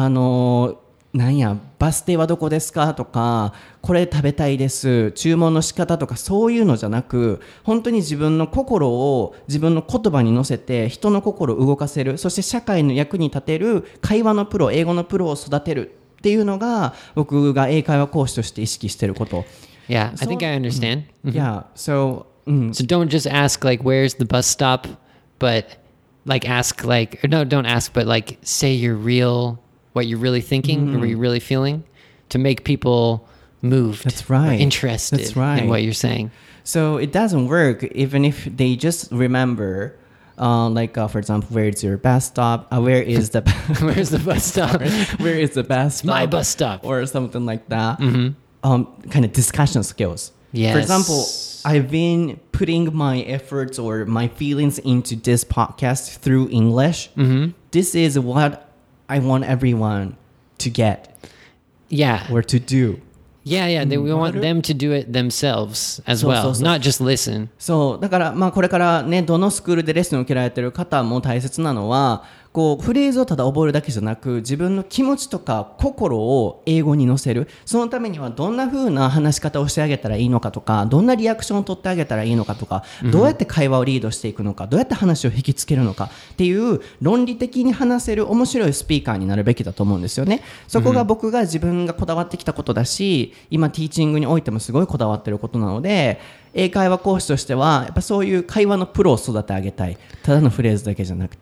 バス停はどこですかとか、これ食べたいです、注文の仕方とか、そういうのじゃなく、本当に自分の心を自分の言葉に乗せて人の心を動かせる、そして社会の役に立てる会話のプロ、英語のプロを育てるっていうのが僕が英会話講師として意識していること。 Yeah, I think I understand. Yeah, so don't just ask like where's the bus stop, but like ask like or no, don't ask, but like say what you're really thinking or what you're really feeling to make people moved or interested in what you're saying. So it doesn't work even if they just remember for example, where is your bus stop? Where is the where's the bus stop? Where is the bus stop? My bus stop. Or something like that. Kind of discussion skills. Yes. For example, I've been putting my efforts or my feelings into this podcast through English. This is what I want everyone to get. Yeah. Or to do. Yeah. We want them to do it themselves as well, not just listen. そう、だからこれからね、どのスクールでレッスンを受けられている方も大切なのは、フレーズをただ覚えるだけじゃなく、自分の気持ちとか心を英語に乗せる。そのためにはどんな風な話し方をしてあげたらいいのかとか、どんなリアクションを取ってあげたらいいのかとか、どうやって会話をリードしていくのか、どうやって話を引きつけるのかっていう論理的に話せる面白いスピーカーになるべきだと思うんですよね。そこが僕が自分がこだわってきたことだし、今ティーチングにおいてもすごいこだわってることなので、英会話講師としてはやっぱそういう会話のプロを育て上げたい。ただのフレーズだけじゃなくて。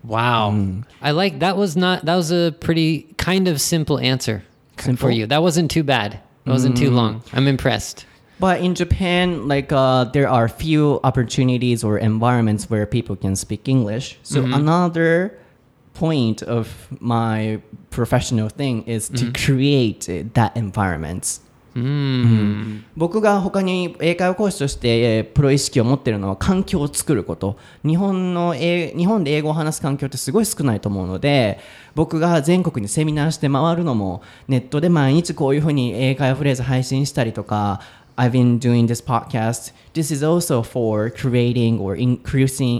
Wow. I like that was a pretty kind of simple answer for you. That wasn't too bad. It wasn't too long. I'm impressed. But in Japan, like there are few opportunities or environments where people can speak English. So another point of my professional thing is to create that environment. 僕が他に英会話講師としてプロ意識を持っているのは環境を作ること。日本で英語を話す環境ってすごい少ないと思うので、僕が全国にセミナーして回るのもネットで毎日こういうふうに英会話フレーズ配信したりとか、I've been doing this podcast. This is also for creating or increasing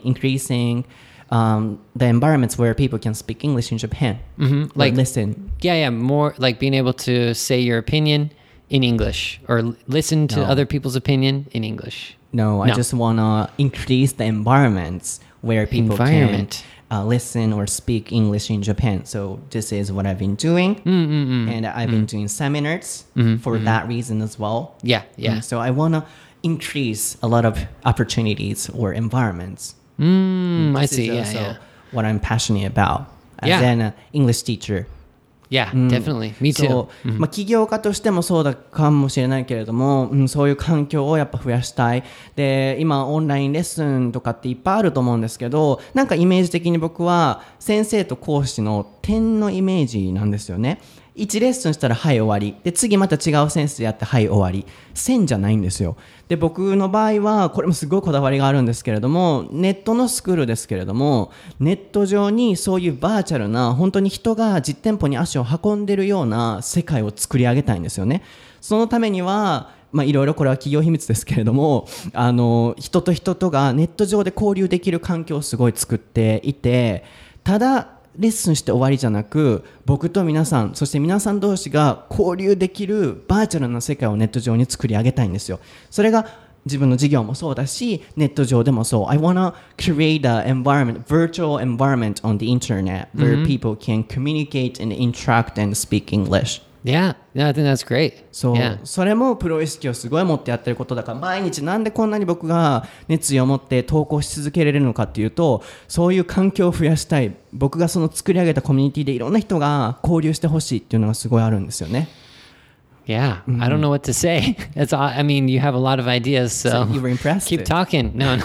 the environments where people can speak English in Japan. Like listen. Yeah, more like being able to say your opinion in English or listen to other people's opinion in English. No, I just want to increase the environments where people can listen or speak English in Japan. So this is what I've been doing. And I've been doing seminars for that reason as well. Yeah. So I want to increase a lot of opportunities or environments. I see. Yeah. What I'm passionate about as an English teacher. Yeah, definitely. Me too. そう、起業家としてもそうだかもしれないけれども、そういう環境をやっぱ増やしたい。で、今オンラインレッスンとかっていっぱいあると思うんですけど、なんかイメージ的に僕は先生と講師の点のイメージなんですよね。1レッスンしたらはい終わりで、次また違う先生やってはい終わり、線じゃないんですよ。で、僕の場合はこれもすごいこだわりがあるんですけれども、ネットのスクールですけれども、ネット上にそういうバーチャルな本当に人が実店舗に足を運んでるような世界を作り上げたいんですよね。そのためにはいろいろこれは企業秘密ですけれども、人と人とがネット上で交流できる環境をすごい作っていて、ただレッスンして終わりじゃなく、僕と皆さん、そして皆さん同士が交流できるバーチャルな世界をネット上に作り上げたいんですよ。それが自分の事業もそうだし、ネット上でもそう。I wanna create an environment, virtual environment on the internet where people can communicate and interact and speak English. Yeah, I think that's great. そう、それもプロ意識をすごい持ってやってることだから、毎日なんでこんなに僕が熱意を持って投稿し続けられるのかっていうと、そういう環境を増やしたい。僕がその作り上げたコミュニティでいろんな人が交流してほしいっていうのがすごいあるんですよね。 Yeah, I don't know what to say. I mean, you have a lot of ideas, so you were impressed. Keep talking. No.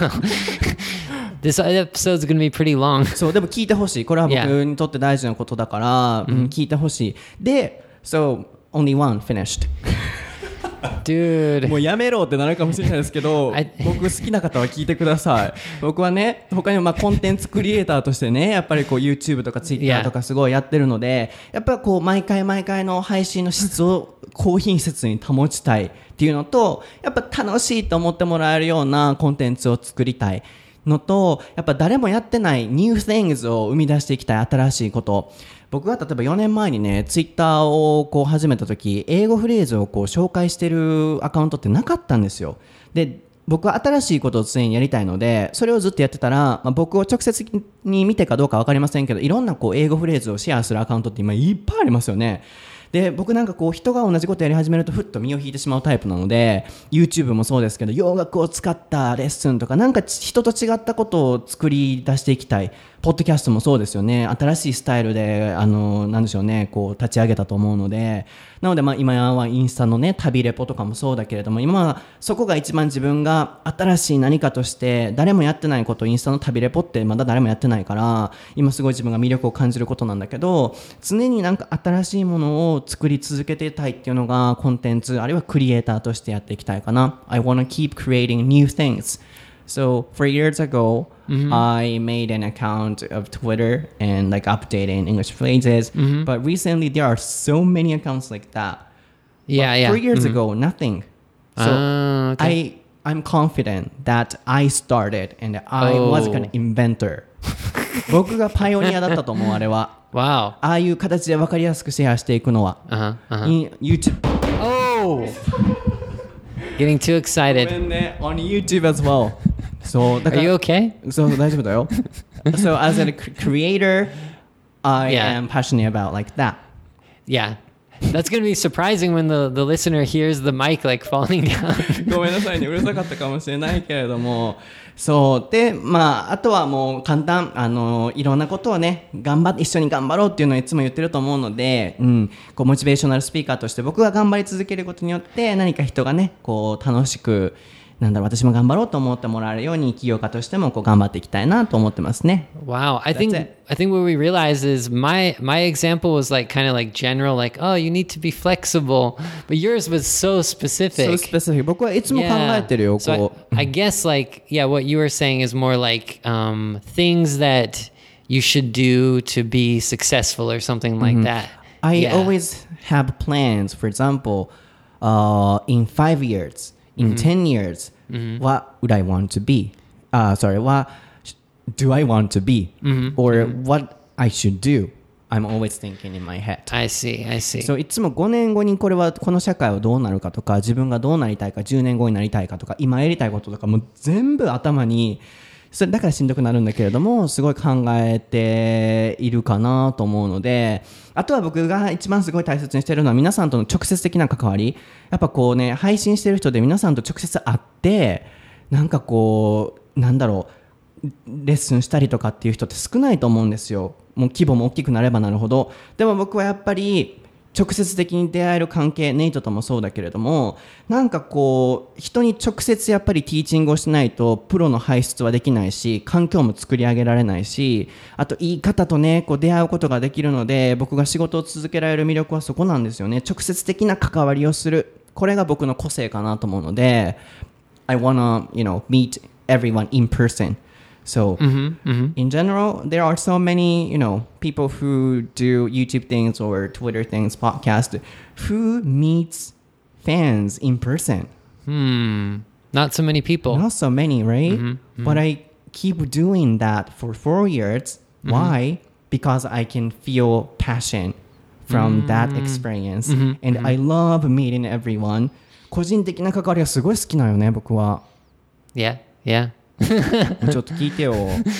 This episode's going to be pretty long. そう、でも聞いてほしい。これは僕にとって大事なことだから、聞いてほしい。で、So, only one finished. Dude. もうやめろってなるかもしれないですけど、僕好きな方は聞いてください。僕はね、他にもコンテンツクリエイターとしてね、やっぱりこう YouTube とか Twitter とかすごいやってるので、やっぱりこう毎回の配信の質を高品質に保ちたいっていうのと、やっぱ楽しいと思ってもらえるようなコンテンツを作りたいのと、やっぱ誰もやってない new things を生み出していきたい新しいこと。僕が例えば4年前にね、ツイッターをこう始めた時、英語フレーズをこう紹介してるアカウントってなかったんですよ。で、僕は新しいことを常にやりたいので、それをずっとやってたら、僕を直接に見てかどうか分かりませんけど、いろんなこう英語フレーズをシェアするアカウントって今いっぱいありますよね。で、僕なんかこう人が同じことやり始めるとふっと身を引いてしまうタイプなので、 YouTube もそうですけど、洋楽を使ったレッスンとかなんか人と違ったことを作り出していきたい。ポッドキャストもそうですよね。新しいスタイルでなんでしょうね、こう立ち上げたと思うので、なので今はインスタのね旅レポとかもそうだけれども、今はそこが一番自分が新しい何かとして誰もやってないこと、インスタの旅レポってまだ誰もやってないから、今すごい自分が魅力を感じることなんだけど、常になんか新しいものを作り続けていたいっていうのがコンテンツあるいはクリエイターとしてやっていきたいかな。 I wanna keep creating new things.So 4 years ago, I made an account of Twitter and like updating English phrases. But recently, there are so many accounts like that. Yeah. 4 years ago, nothing. So okay. I'm confident that I started and I was an inventor. 僕がパイオニアだったと思う、あれは。 Wow. ああいう形で分かりやすくシェアしていくのは。YouTube. Getting too excited. ごめんね、on YouTube as well. そうだから Are you okay? そう大丈夫だよ。So as a creator, I am passionate about like that. Yeah. That's going to be surprising when the listener hears the mic like falling down. ごめんなさいね、うるさかったかもしれないけれども、 そうで、あとはもう簡単、いろんなことをね一緒に頑張ろうっていうのをいつも言ってると思うので、こうモチベーショナルスピーカーとして僕が頑張り続けることによって何か人がねこう楽しく私も頑張ろうと思ってもらえるように起業家としてもこう頑張っていきたいなと思ってますね。 Wow, I think what we realize is my example was like kind of like general, like oh you need to be flexible, but yours was so specific. So specific. 僕はいつも考えてるよ。 So こう I guess like what you were saying is more like things that you should do to be successful or something like that. I always have plans. For example, in 5 years, in 10 years, what would I want to be? What do I want to be? Or what I should do? I'm always thinking in my head. I see. So いつも5年後にこの社会はどうなるかとか、自分がどうなりたいか、10年後になりたいかとか、今やりたいこととかも全部頭に、それだからしんどくなるんだけれどもすごい考えているかなと思うので、あとは僕が一番すごい大切にしているのは皆さんとの直接的な関わり。やっぱこうね配信してる人で皆さんと直接会ってなんかこうレッスンしたりとかっていう人って少ないと思うんですよ。もう規模も大きくなればなるほど。でも僕はやっぱり直接的に出会える関係、ネイトともそうだけれども、なんかこう人に直接やっぱりティーチングをしないとプロの輩出はできないし、環境も作り上げられないし、あといい方とねこう出会うことができるので、僕が仕事を続けられる魅力はそこなんですよね。直接的な関わりをする、これが僕の個性かなと思うので、 I wanna meet everyone in person.So in general, there are so many, people who do YouTube things or Twitter things, podcast, who meets fans in person. Not so many people. Not so many, right? But I keep doing that for 4 years. Why? Because I can feel passion from that experience. And I love meeting everyone. 個人的な関わりがすごい好きなよね、僕は。 Yeah. ちょっと聞いてよ。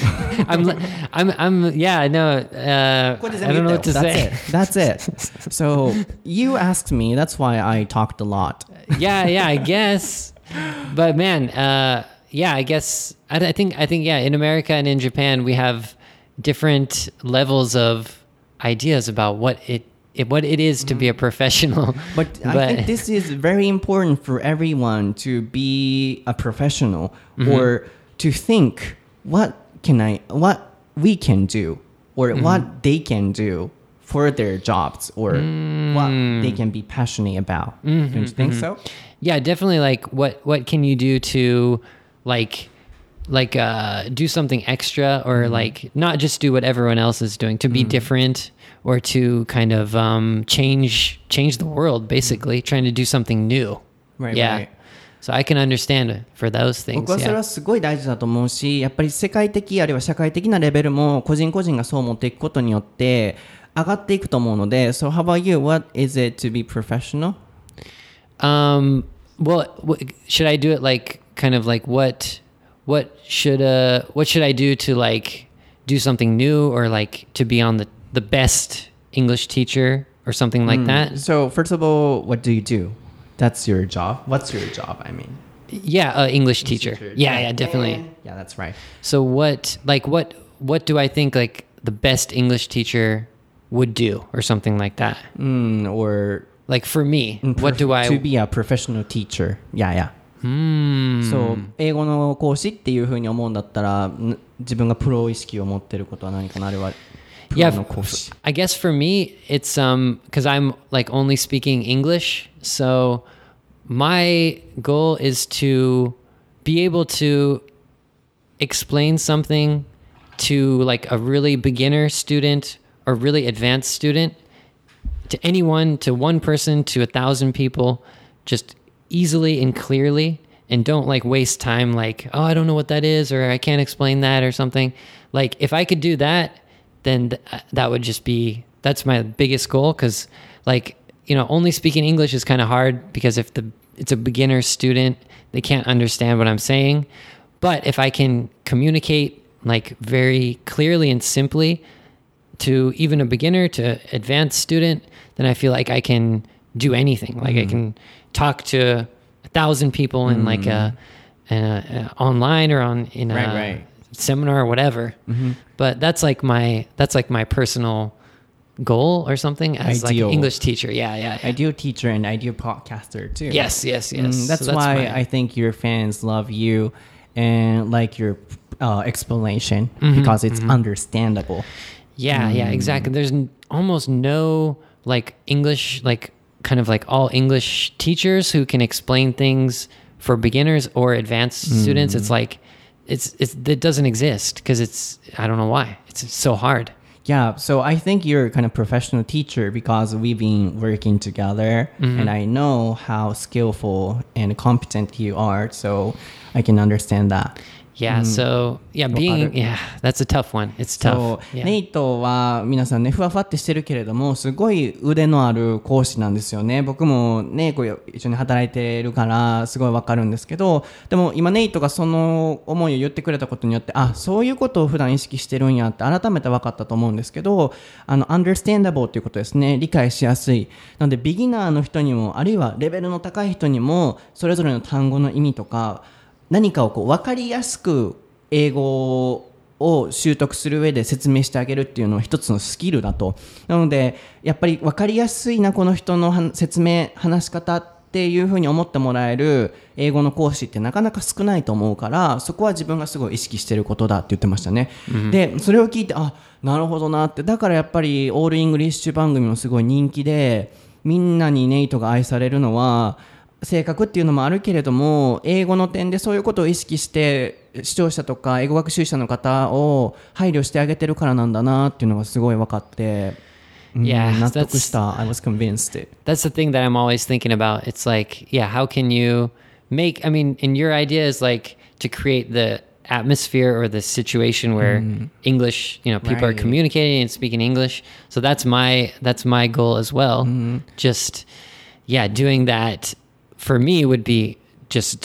I know. I don't know what to say. That's it. So you asked me. That's why I talked a lot. Yeah, I guess. But man, I guess I think in America and in Japan we have different levels of ideas about what it is to be a professional. But I think this is very important for everyone to be a professional or to think what we can do or what they can do for their jobs or what they can be passionate about. Don't you think so? Yeah, definitely. Like what can you do to like do something extra or like not just do what everyone else is doing, to be different or to kind of change the world, basically trying to do something new. Right, yeah. So I can understand for those things. 僕はそれはすごい大事だと思うし、やっぱり世界的あるいは社会的なレベルも個人個人がそう持っていくことによって上がっていくと思うので。So how about you? What is it to be professional? Well, should I do it like kind of like what should I do to like do something new or like to be on the best English teacher or something like that? So first of all, what do you do? That's your job. What's your job? I mean, yeah, English teacher. Yeah, definitely. Yeah, that's right. So what do I think like the best English teacher would do or something like that? Or like for me, what do I to be a professional teacher? Yeah. そう、英語の講師っていう風に思うんだったら、自分がプロ意識を持ってることは何かな。あれはプロの講師。 I guess for me it's because I'm like only speaking English, so my goal is to be able to explain something to like a really beginner student or really advanced student, to anyone, to one person, to 1,000 people, just easily and clearly, and don't like waste time like, oh, I don't know what that is, or I can't explain that or something. Like if I could do that, then that would just be, that's my biggest goal. Because like, only speaking English is kind of hard because if it's a beginner student, they can't understand what I'm saying. But if I can communicate like very clearly and simply to even a beginner to advanced student, then I feel like I can do anything. Like I can talk to 1,000 people in like online or in a Right. seminar or whatever. But that's like my personal goal or something as like Ideal. an English teacher. Yeah. Ideal teacher and ideal podcaster too. Yes. That's So why my- I think your fans love you and like your explanation because it's understandable. Yeah, exactly. There's almost no like English, like kind of like all English teachers who can explain things for beginners or advanced students. It's like it doesn't exist because I don't know why. It's so hard. Yeah, so I think you're a kind of professional teacher because we've been working together and I know how skillful and competent you are, so I can understand that. Yeah, so that's a tough one. It's そ tough. う Yeah. ネイトは皆さんねふわふわってしてるけれどもすごい腕のある講師なんですよね。僕もねこう一緒に働いてるからすごいわかるんですけど、でも今ネイトがその思いを言ってくれたことによってそういうことを普段意識してるんやって改めて分かったと思うんですけど、understandable っていうことですね。理解しやすい。なのでビギナーの人にもあるいはレベルの高い人にもそれぞれの単語の意味とか何かをこう分かりやすく英語を習得する上で説明してあげるっていうのは一つのスキルだと。なのでやっぱり分かりやすいなこの人の説明話し方っていうふうに思ってもらえる英語の講師ってなかなか少ないと思うからそこは自分がすごい意識してることだって言ってましたね、でそれを聞いてなるほどなって。だからやっぱりオールイングリッシュ番組もすごい人気でみんなにネイトが愛されるのは性格っていうのもあるけれども英語の点でそういうことを意識して視聴者とか英語学習者の方を配慮してあげてるからなんだなっていうのがすごい分かって、 Yeah, 納得した。I was convinced. That's the thing that I'm always thinking about. It's like, how can you make, and your idea is like to create the atmosphere or the situation where English, people are Right. communicating and speaking English. So that's my goal as well. Just, doing that for me would be just,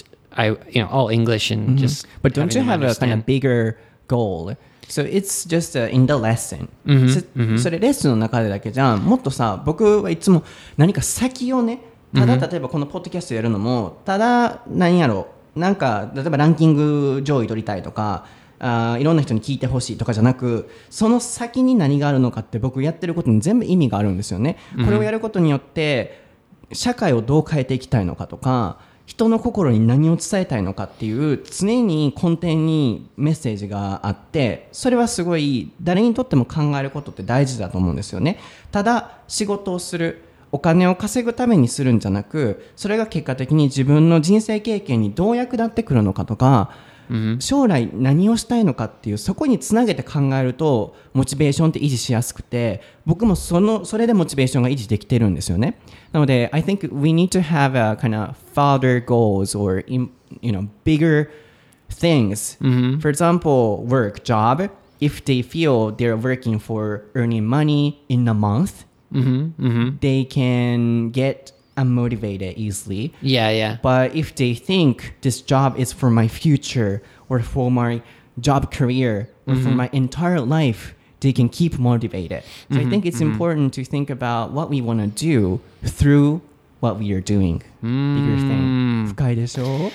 all English and just. But don't you having them have a kind understand. of bigger goal? So it's just in the lesson. それレッスンの中でだけじゃん。もっとさ、僕はいつも何か先をね、ただ例えばこのポッドキャストやるのも、ただ何やろ、なんか例えばランキング上位取りたいとか、いろんな人に聞いてほしいとかじゃなく、その先に何があるのかって僕やってることに全部意味があるんですよね。これをやることによって社会をどう変えていきたいのかとか人の心に何を伝えたいのかっていう常に根底にメッセージがあってそれはすごい誰にとっても考えることって大事だと思うんですよね。ただ仕事をするお金を稼ぐためにするんじゃなくそれが結果的に自分の人生経験にどう役立ってくるのかとか将来何をしたいのかっていうそこにつなげて考えるとモチベーションって維持しやすくて僕もそれでモチベーションが維持できてるんですよね。なので I think we need to have a kind of farther goals or bigger things. For example, work job. If they feel they're working for earning money in a month, they can get unmotivated easily. Yeah. But if they think this job is for my future or for my job career or for my entire life, they can keep motivated. So I think it's important to think about what we want to do through what we are doing. Bigger thing. 深いでしょ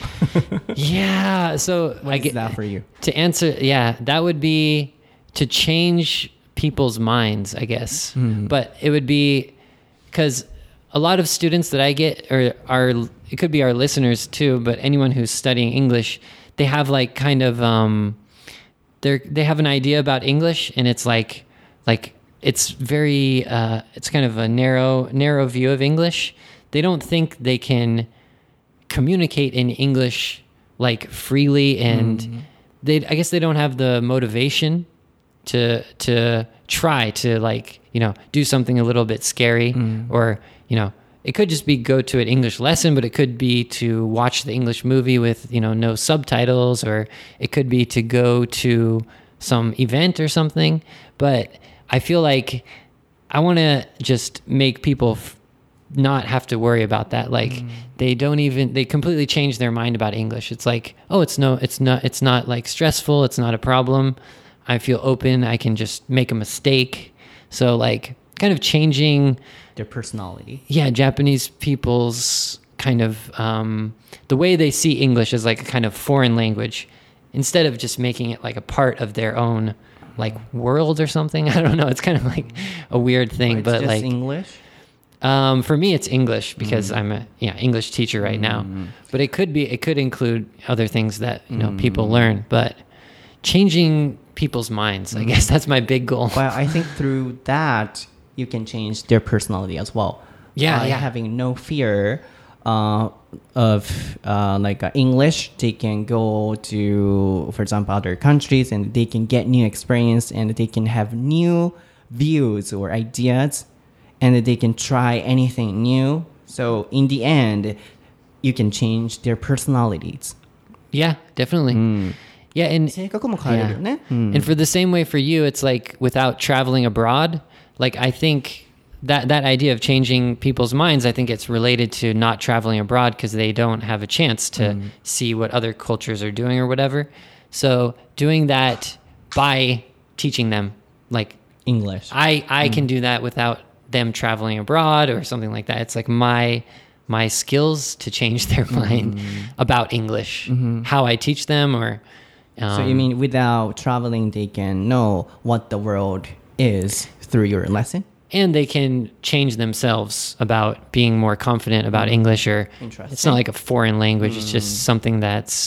Yeah. So What is that for you? to answer, that would be to change people's minds, I guess. But it would be because a lot of students that I get it could be our listeners too, but anyone who's studying English, they have like kind of they have an idea about English and it's like it's very it's kind of a narrow view of English. They don't think they can communicate in English like freely and I guess they don't have the motivation to try to like, do something a little bit scary or, it could just be go to an English lesson, but it could be to watch the English movie with, no subtitles, or it could be to go to some event or something. But I feel like I want to just make people not have to worry about that. Like they completely change their mind about English. It's like, oh, it's not like stressful. It's not a problem. I feel open. I can just make a mistake. So like kind of changing Their personality. Japanese people's kind of the way they see English as like a kind of foreign language instead of just making it like a part of their own like world or something. I don't know. It's kind of like a weird thing, but just like English. For me, it's English because I'm a English teacher right now. But it could include other things that people learn. But changing people's minds, I guess that's my big goal. Well, I think through that you can change their personality as well. Having no fear of English, they can go to, for example, other countries and they can get new experience and they can have new views or ideas and they can try anything new. So in the end, you can change their personalities. Yeah, definitely. Yeah, and 性格も変えるよね。 And for the same way for you, it's like without traveling abroad, like I think that idea of changing people's minds, I think it's related to not traveling abroad because they don't have a chance to see what other cultures are doing or whatever. So doing that by teaching them like English. I can do that without them traveling abroad or something like that. It's like my skills to change their mind about English, how I teach them or so you mean without traveling, they can know what the world is through your lesson? And they can change themselves about being more confident about English, or it's not like a foreign language. It's just something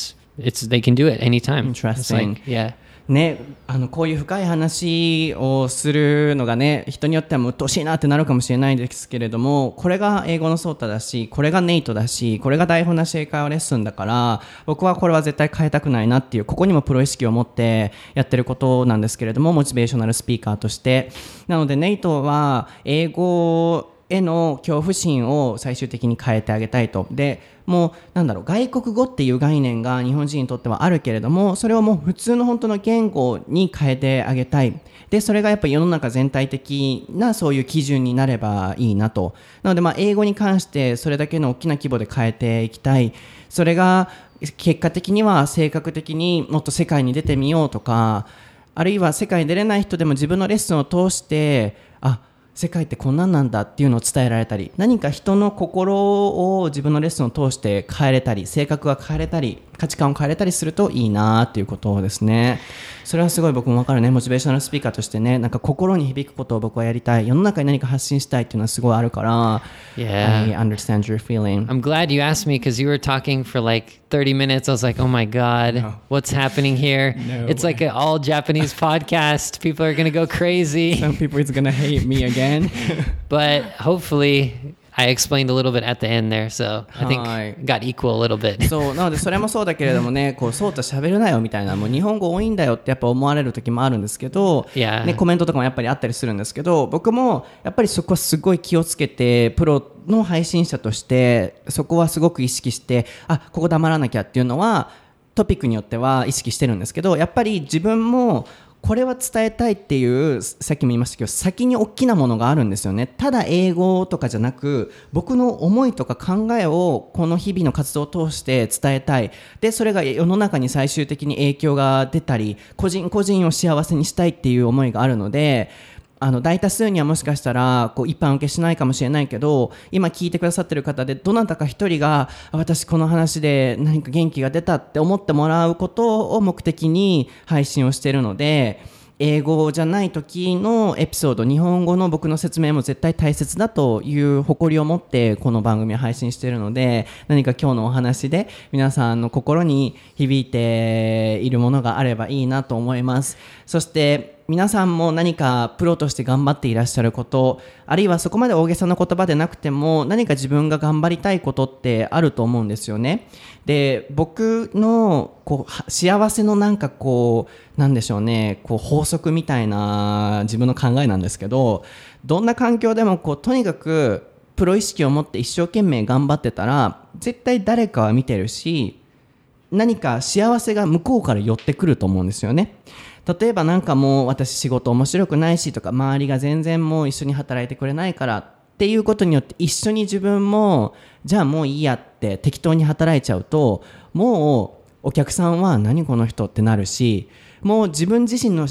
they can do it anytime. Interesting. It's like, yeah. ね、こういう深い話をするのがね、人によっては鬱陶しいなってなるかもしれないですけれども、これが英語のソータだし、これがネイトだし、これが台本なし英会話レッスンだから、僕はこれは絶対変えたくないなっていう、ここにもプロ意識を持ってやってることなんですけれども、モチベーショナルスピーカーとして。なのでネイトは英語への恐怖心を最終的に変えてあげたいと。でもう外国語っていう概念が日本人にとってはあるけれども、それをもう普通の本当の言語に変えてあげたい。でそれがやっぱり世の中全体的なそういう基準になればいいなと。なので英語に関してそれだけの大きな規模で変えていきたい。それが結果的には性格的にもっと世界に出てみようとか、あるいは世界に出れない人でも自分のレッスンを通して世界ってこんなんなんだっていうのを伝えられたり、何か人の心を自分のレッスンを通して変えれたり、性格が変えれたり、価値観を変えれたりするといいなっていうことですね。それはすごい僕も分かるね。モチベーショナルスピーカーとしてね、心に響くことを僕はやりたい。世の中に何か発信したいっていうのはすごいあるから。 Yeah. I understand your feeling. I'm glad you asked me because you were talking for like 30 minutes. I was like, oh my God, what's happening here? It's like an all Japanese podcast. People are going to go crazy. Some people is going to hate me again. But hopefully I explained a little bit at the end there, so I think got equal a little bit. そうなのでそれもそうだけれどもね、そうと喋るなよみたいな、もう日本語多いんだよってやっぱ思われる時もあるんですけど、ね、コメントとかもやっぱりあったりするんですけど、僕もやっぱりそこはすごい気をつけて、プロの配信者としてそこはすごく意識して、ここ黙らなきゃっていうのはトピックによっては意識してるんですけど、やっぱり自分もこれは伝えたいっていう、さっきも言いましたけど、先に大きなものがあるんですよね。ただ英語とかじゃなく、僕の思いとか考えをこの日々の活動を通して伝えたい。でそれが世の中に最終的に影響が出たり、個人個人を幸せにしたいっていう思いがあるので、大多数にはもしかしたら一般受けしないかもしれないけど、今聞いてくださってる方でどなたか一人が私この話で何か元気が出たって思ってもらうことを目的に配信をしているので、英語じゃない時のエピソード、日本語の僕の説明も絶対大切だという誇りを持ってこの番組を配信しているので、何か今日のお話で皆さんの心に響いているものがあればいいなと思います。そして皆さんも何かプロとして頑張っていらっしゃること、あるいはそこまで大げさな言葉でなくても何か自分が頑張りたいことってあると思うんですよね。で僕の幸せのなんでしょうね、法則みたいな自分の考えなんですけど、どんな環境でもとにかくプロ意識を持って一生懸命頑張ってたら絶対誰かは見てるし、何か幸せが向こうから寄ってくると思うんですよね。例えばもう私仕事面白くないしとか、周りが全然もう一緒に働いてくれないからっていうことによって一緒に自分もじゃあもういいやって適当に働いちゃうと、もうお客さんは何この人ってなるし、もう自分自身の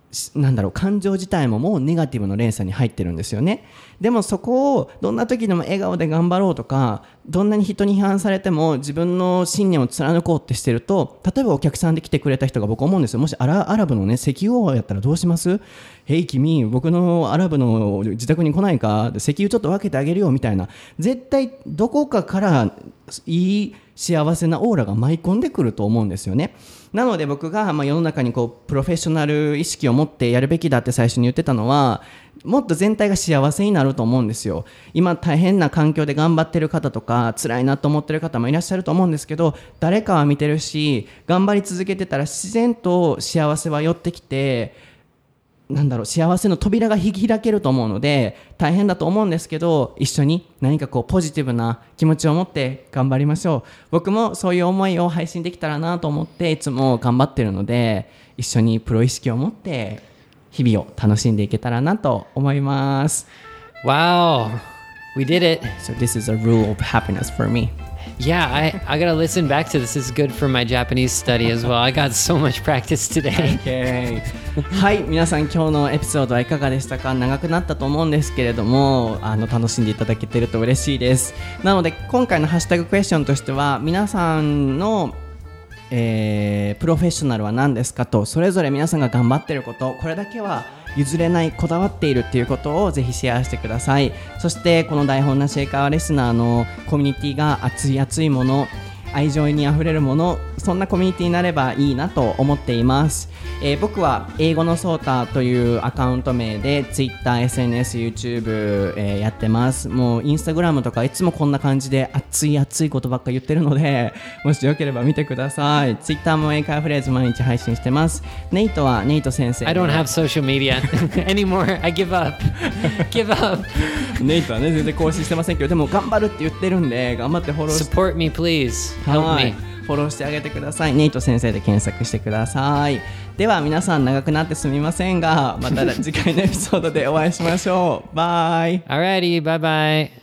感情自体ももうネガティブの連鎖に入ってるんですよね。でもそこをどんな時でも笑顔で頑張ろうとか、どんなに人に批判されても自分の信念を貫こうってしてると、例えばお客さんで来てくれた人が、僕思うんですよ、もしアラブのね石油王やったらどうします？へい君、僕のアラブの自宅に来ないか、石油ちょっと分けてあげるよみたいな、絶対どこかからいい幸せなオーラが舞い込んでくると思うんですよね。なので僕が世の中にプロフェッショナル意識を持ってやるべきだって最初に言ってたのは、もっと全体が幸せになると思うんですよ。今大変な環境で頑張ってる方とか、辛いなと思ってる方もいらっしゃると思うんですけど、誰かは見てるし、頑張り続けてたら自然と幸せは寄ってきて、幸せの扉が開けると思うので、大変だと思うんですけど、一緒に何かポジティブな気持ちを持って頑張りましょう。僕もそういう思いを配信できたらなと思っていつも頑張ってるので、一緒にプロ意識を持って日々を楽しんでいけたらなと思います。 Wow, we did it. So this is a rule of happiness for me. Yeah, I gotta listen back to this. This is good for my Japanese study as well. I got so much practice today. Okay. はい、皆さん今日のエピソードはいかがでしたか？長くなったと思うんですけれども、楽しんでいただけてると嬉しいです。なので今回のハッシュタグクエスチョンとしては、皆さんのプロフェッショナルは何ですかと、それぞれ皆さんが頑張っていること、これだけは譲れない、こだわっているっていうことをぜひシェアしてください。そしてこの台本なし英会話レスナーのコミュニティが熱いもの、愛情にあふれるもの、そんなコミュニティになればいいなと思っています。僕は英語のソータというアカウント名で Twitter、SNS、YouTube、やってます。もうインスタグラムとかいつもこんな感じで熱いことばっか言ってるので、もしよければ見てください。Twitter も英会話フレーズ毎日配信してます。ネイトはネイト先生。 I don't have social media anymore. I give up. Give up. ネイトはね全然更新してませんけど、でも頑張るって言ってるんで、頑張ってフォローして Support me, please. Help me. フォローしてあげてください。ネイト先生で検索してください。では皆さん長くなってすみませんが、また次回のエピソードでお会いしましょう。バイ。 Alrighty, bye bye.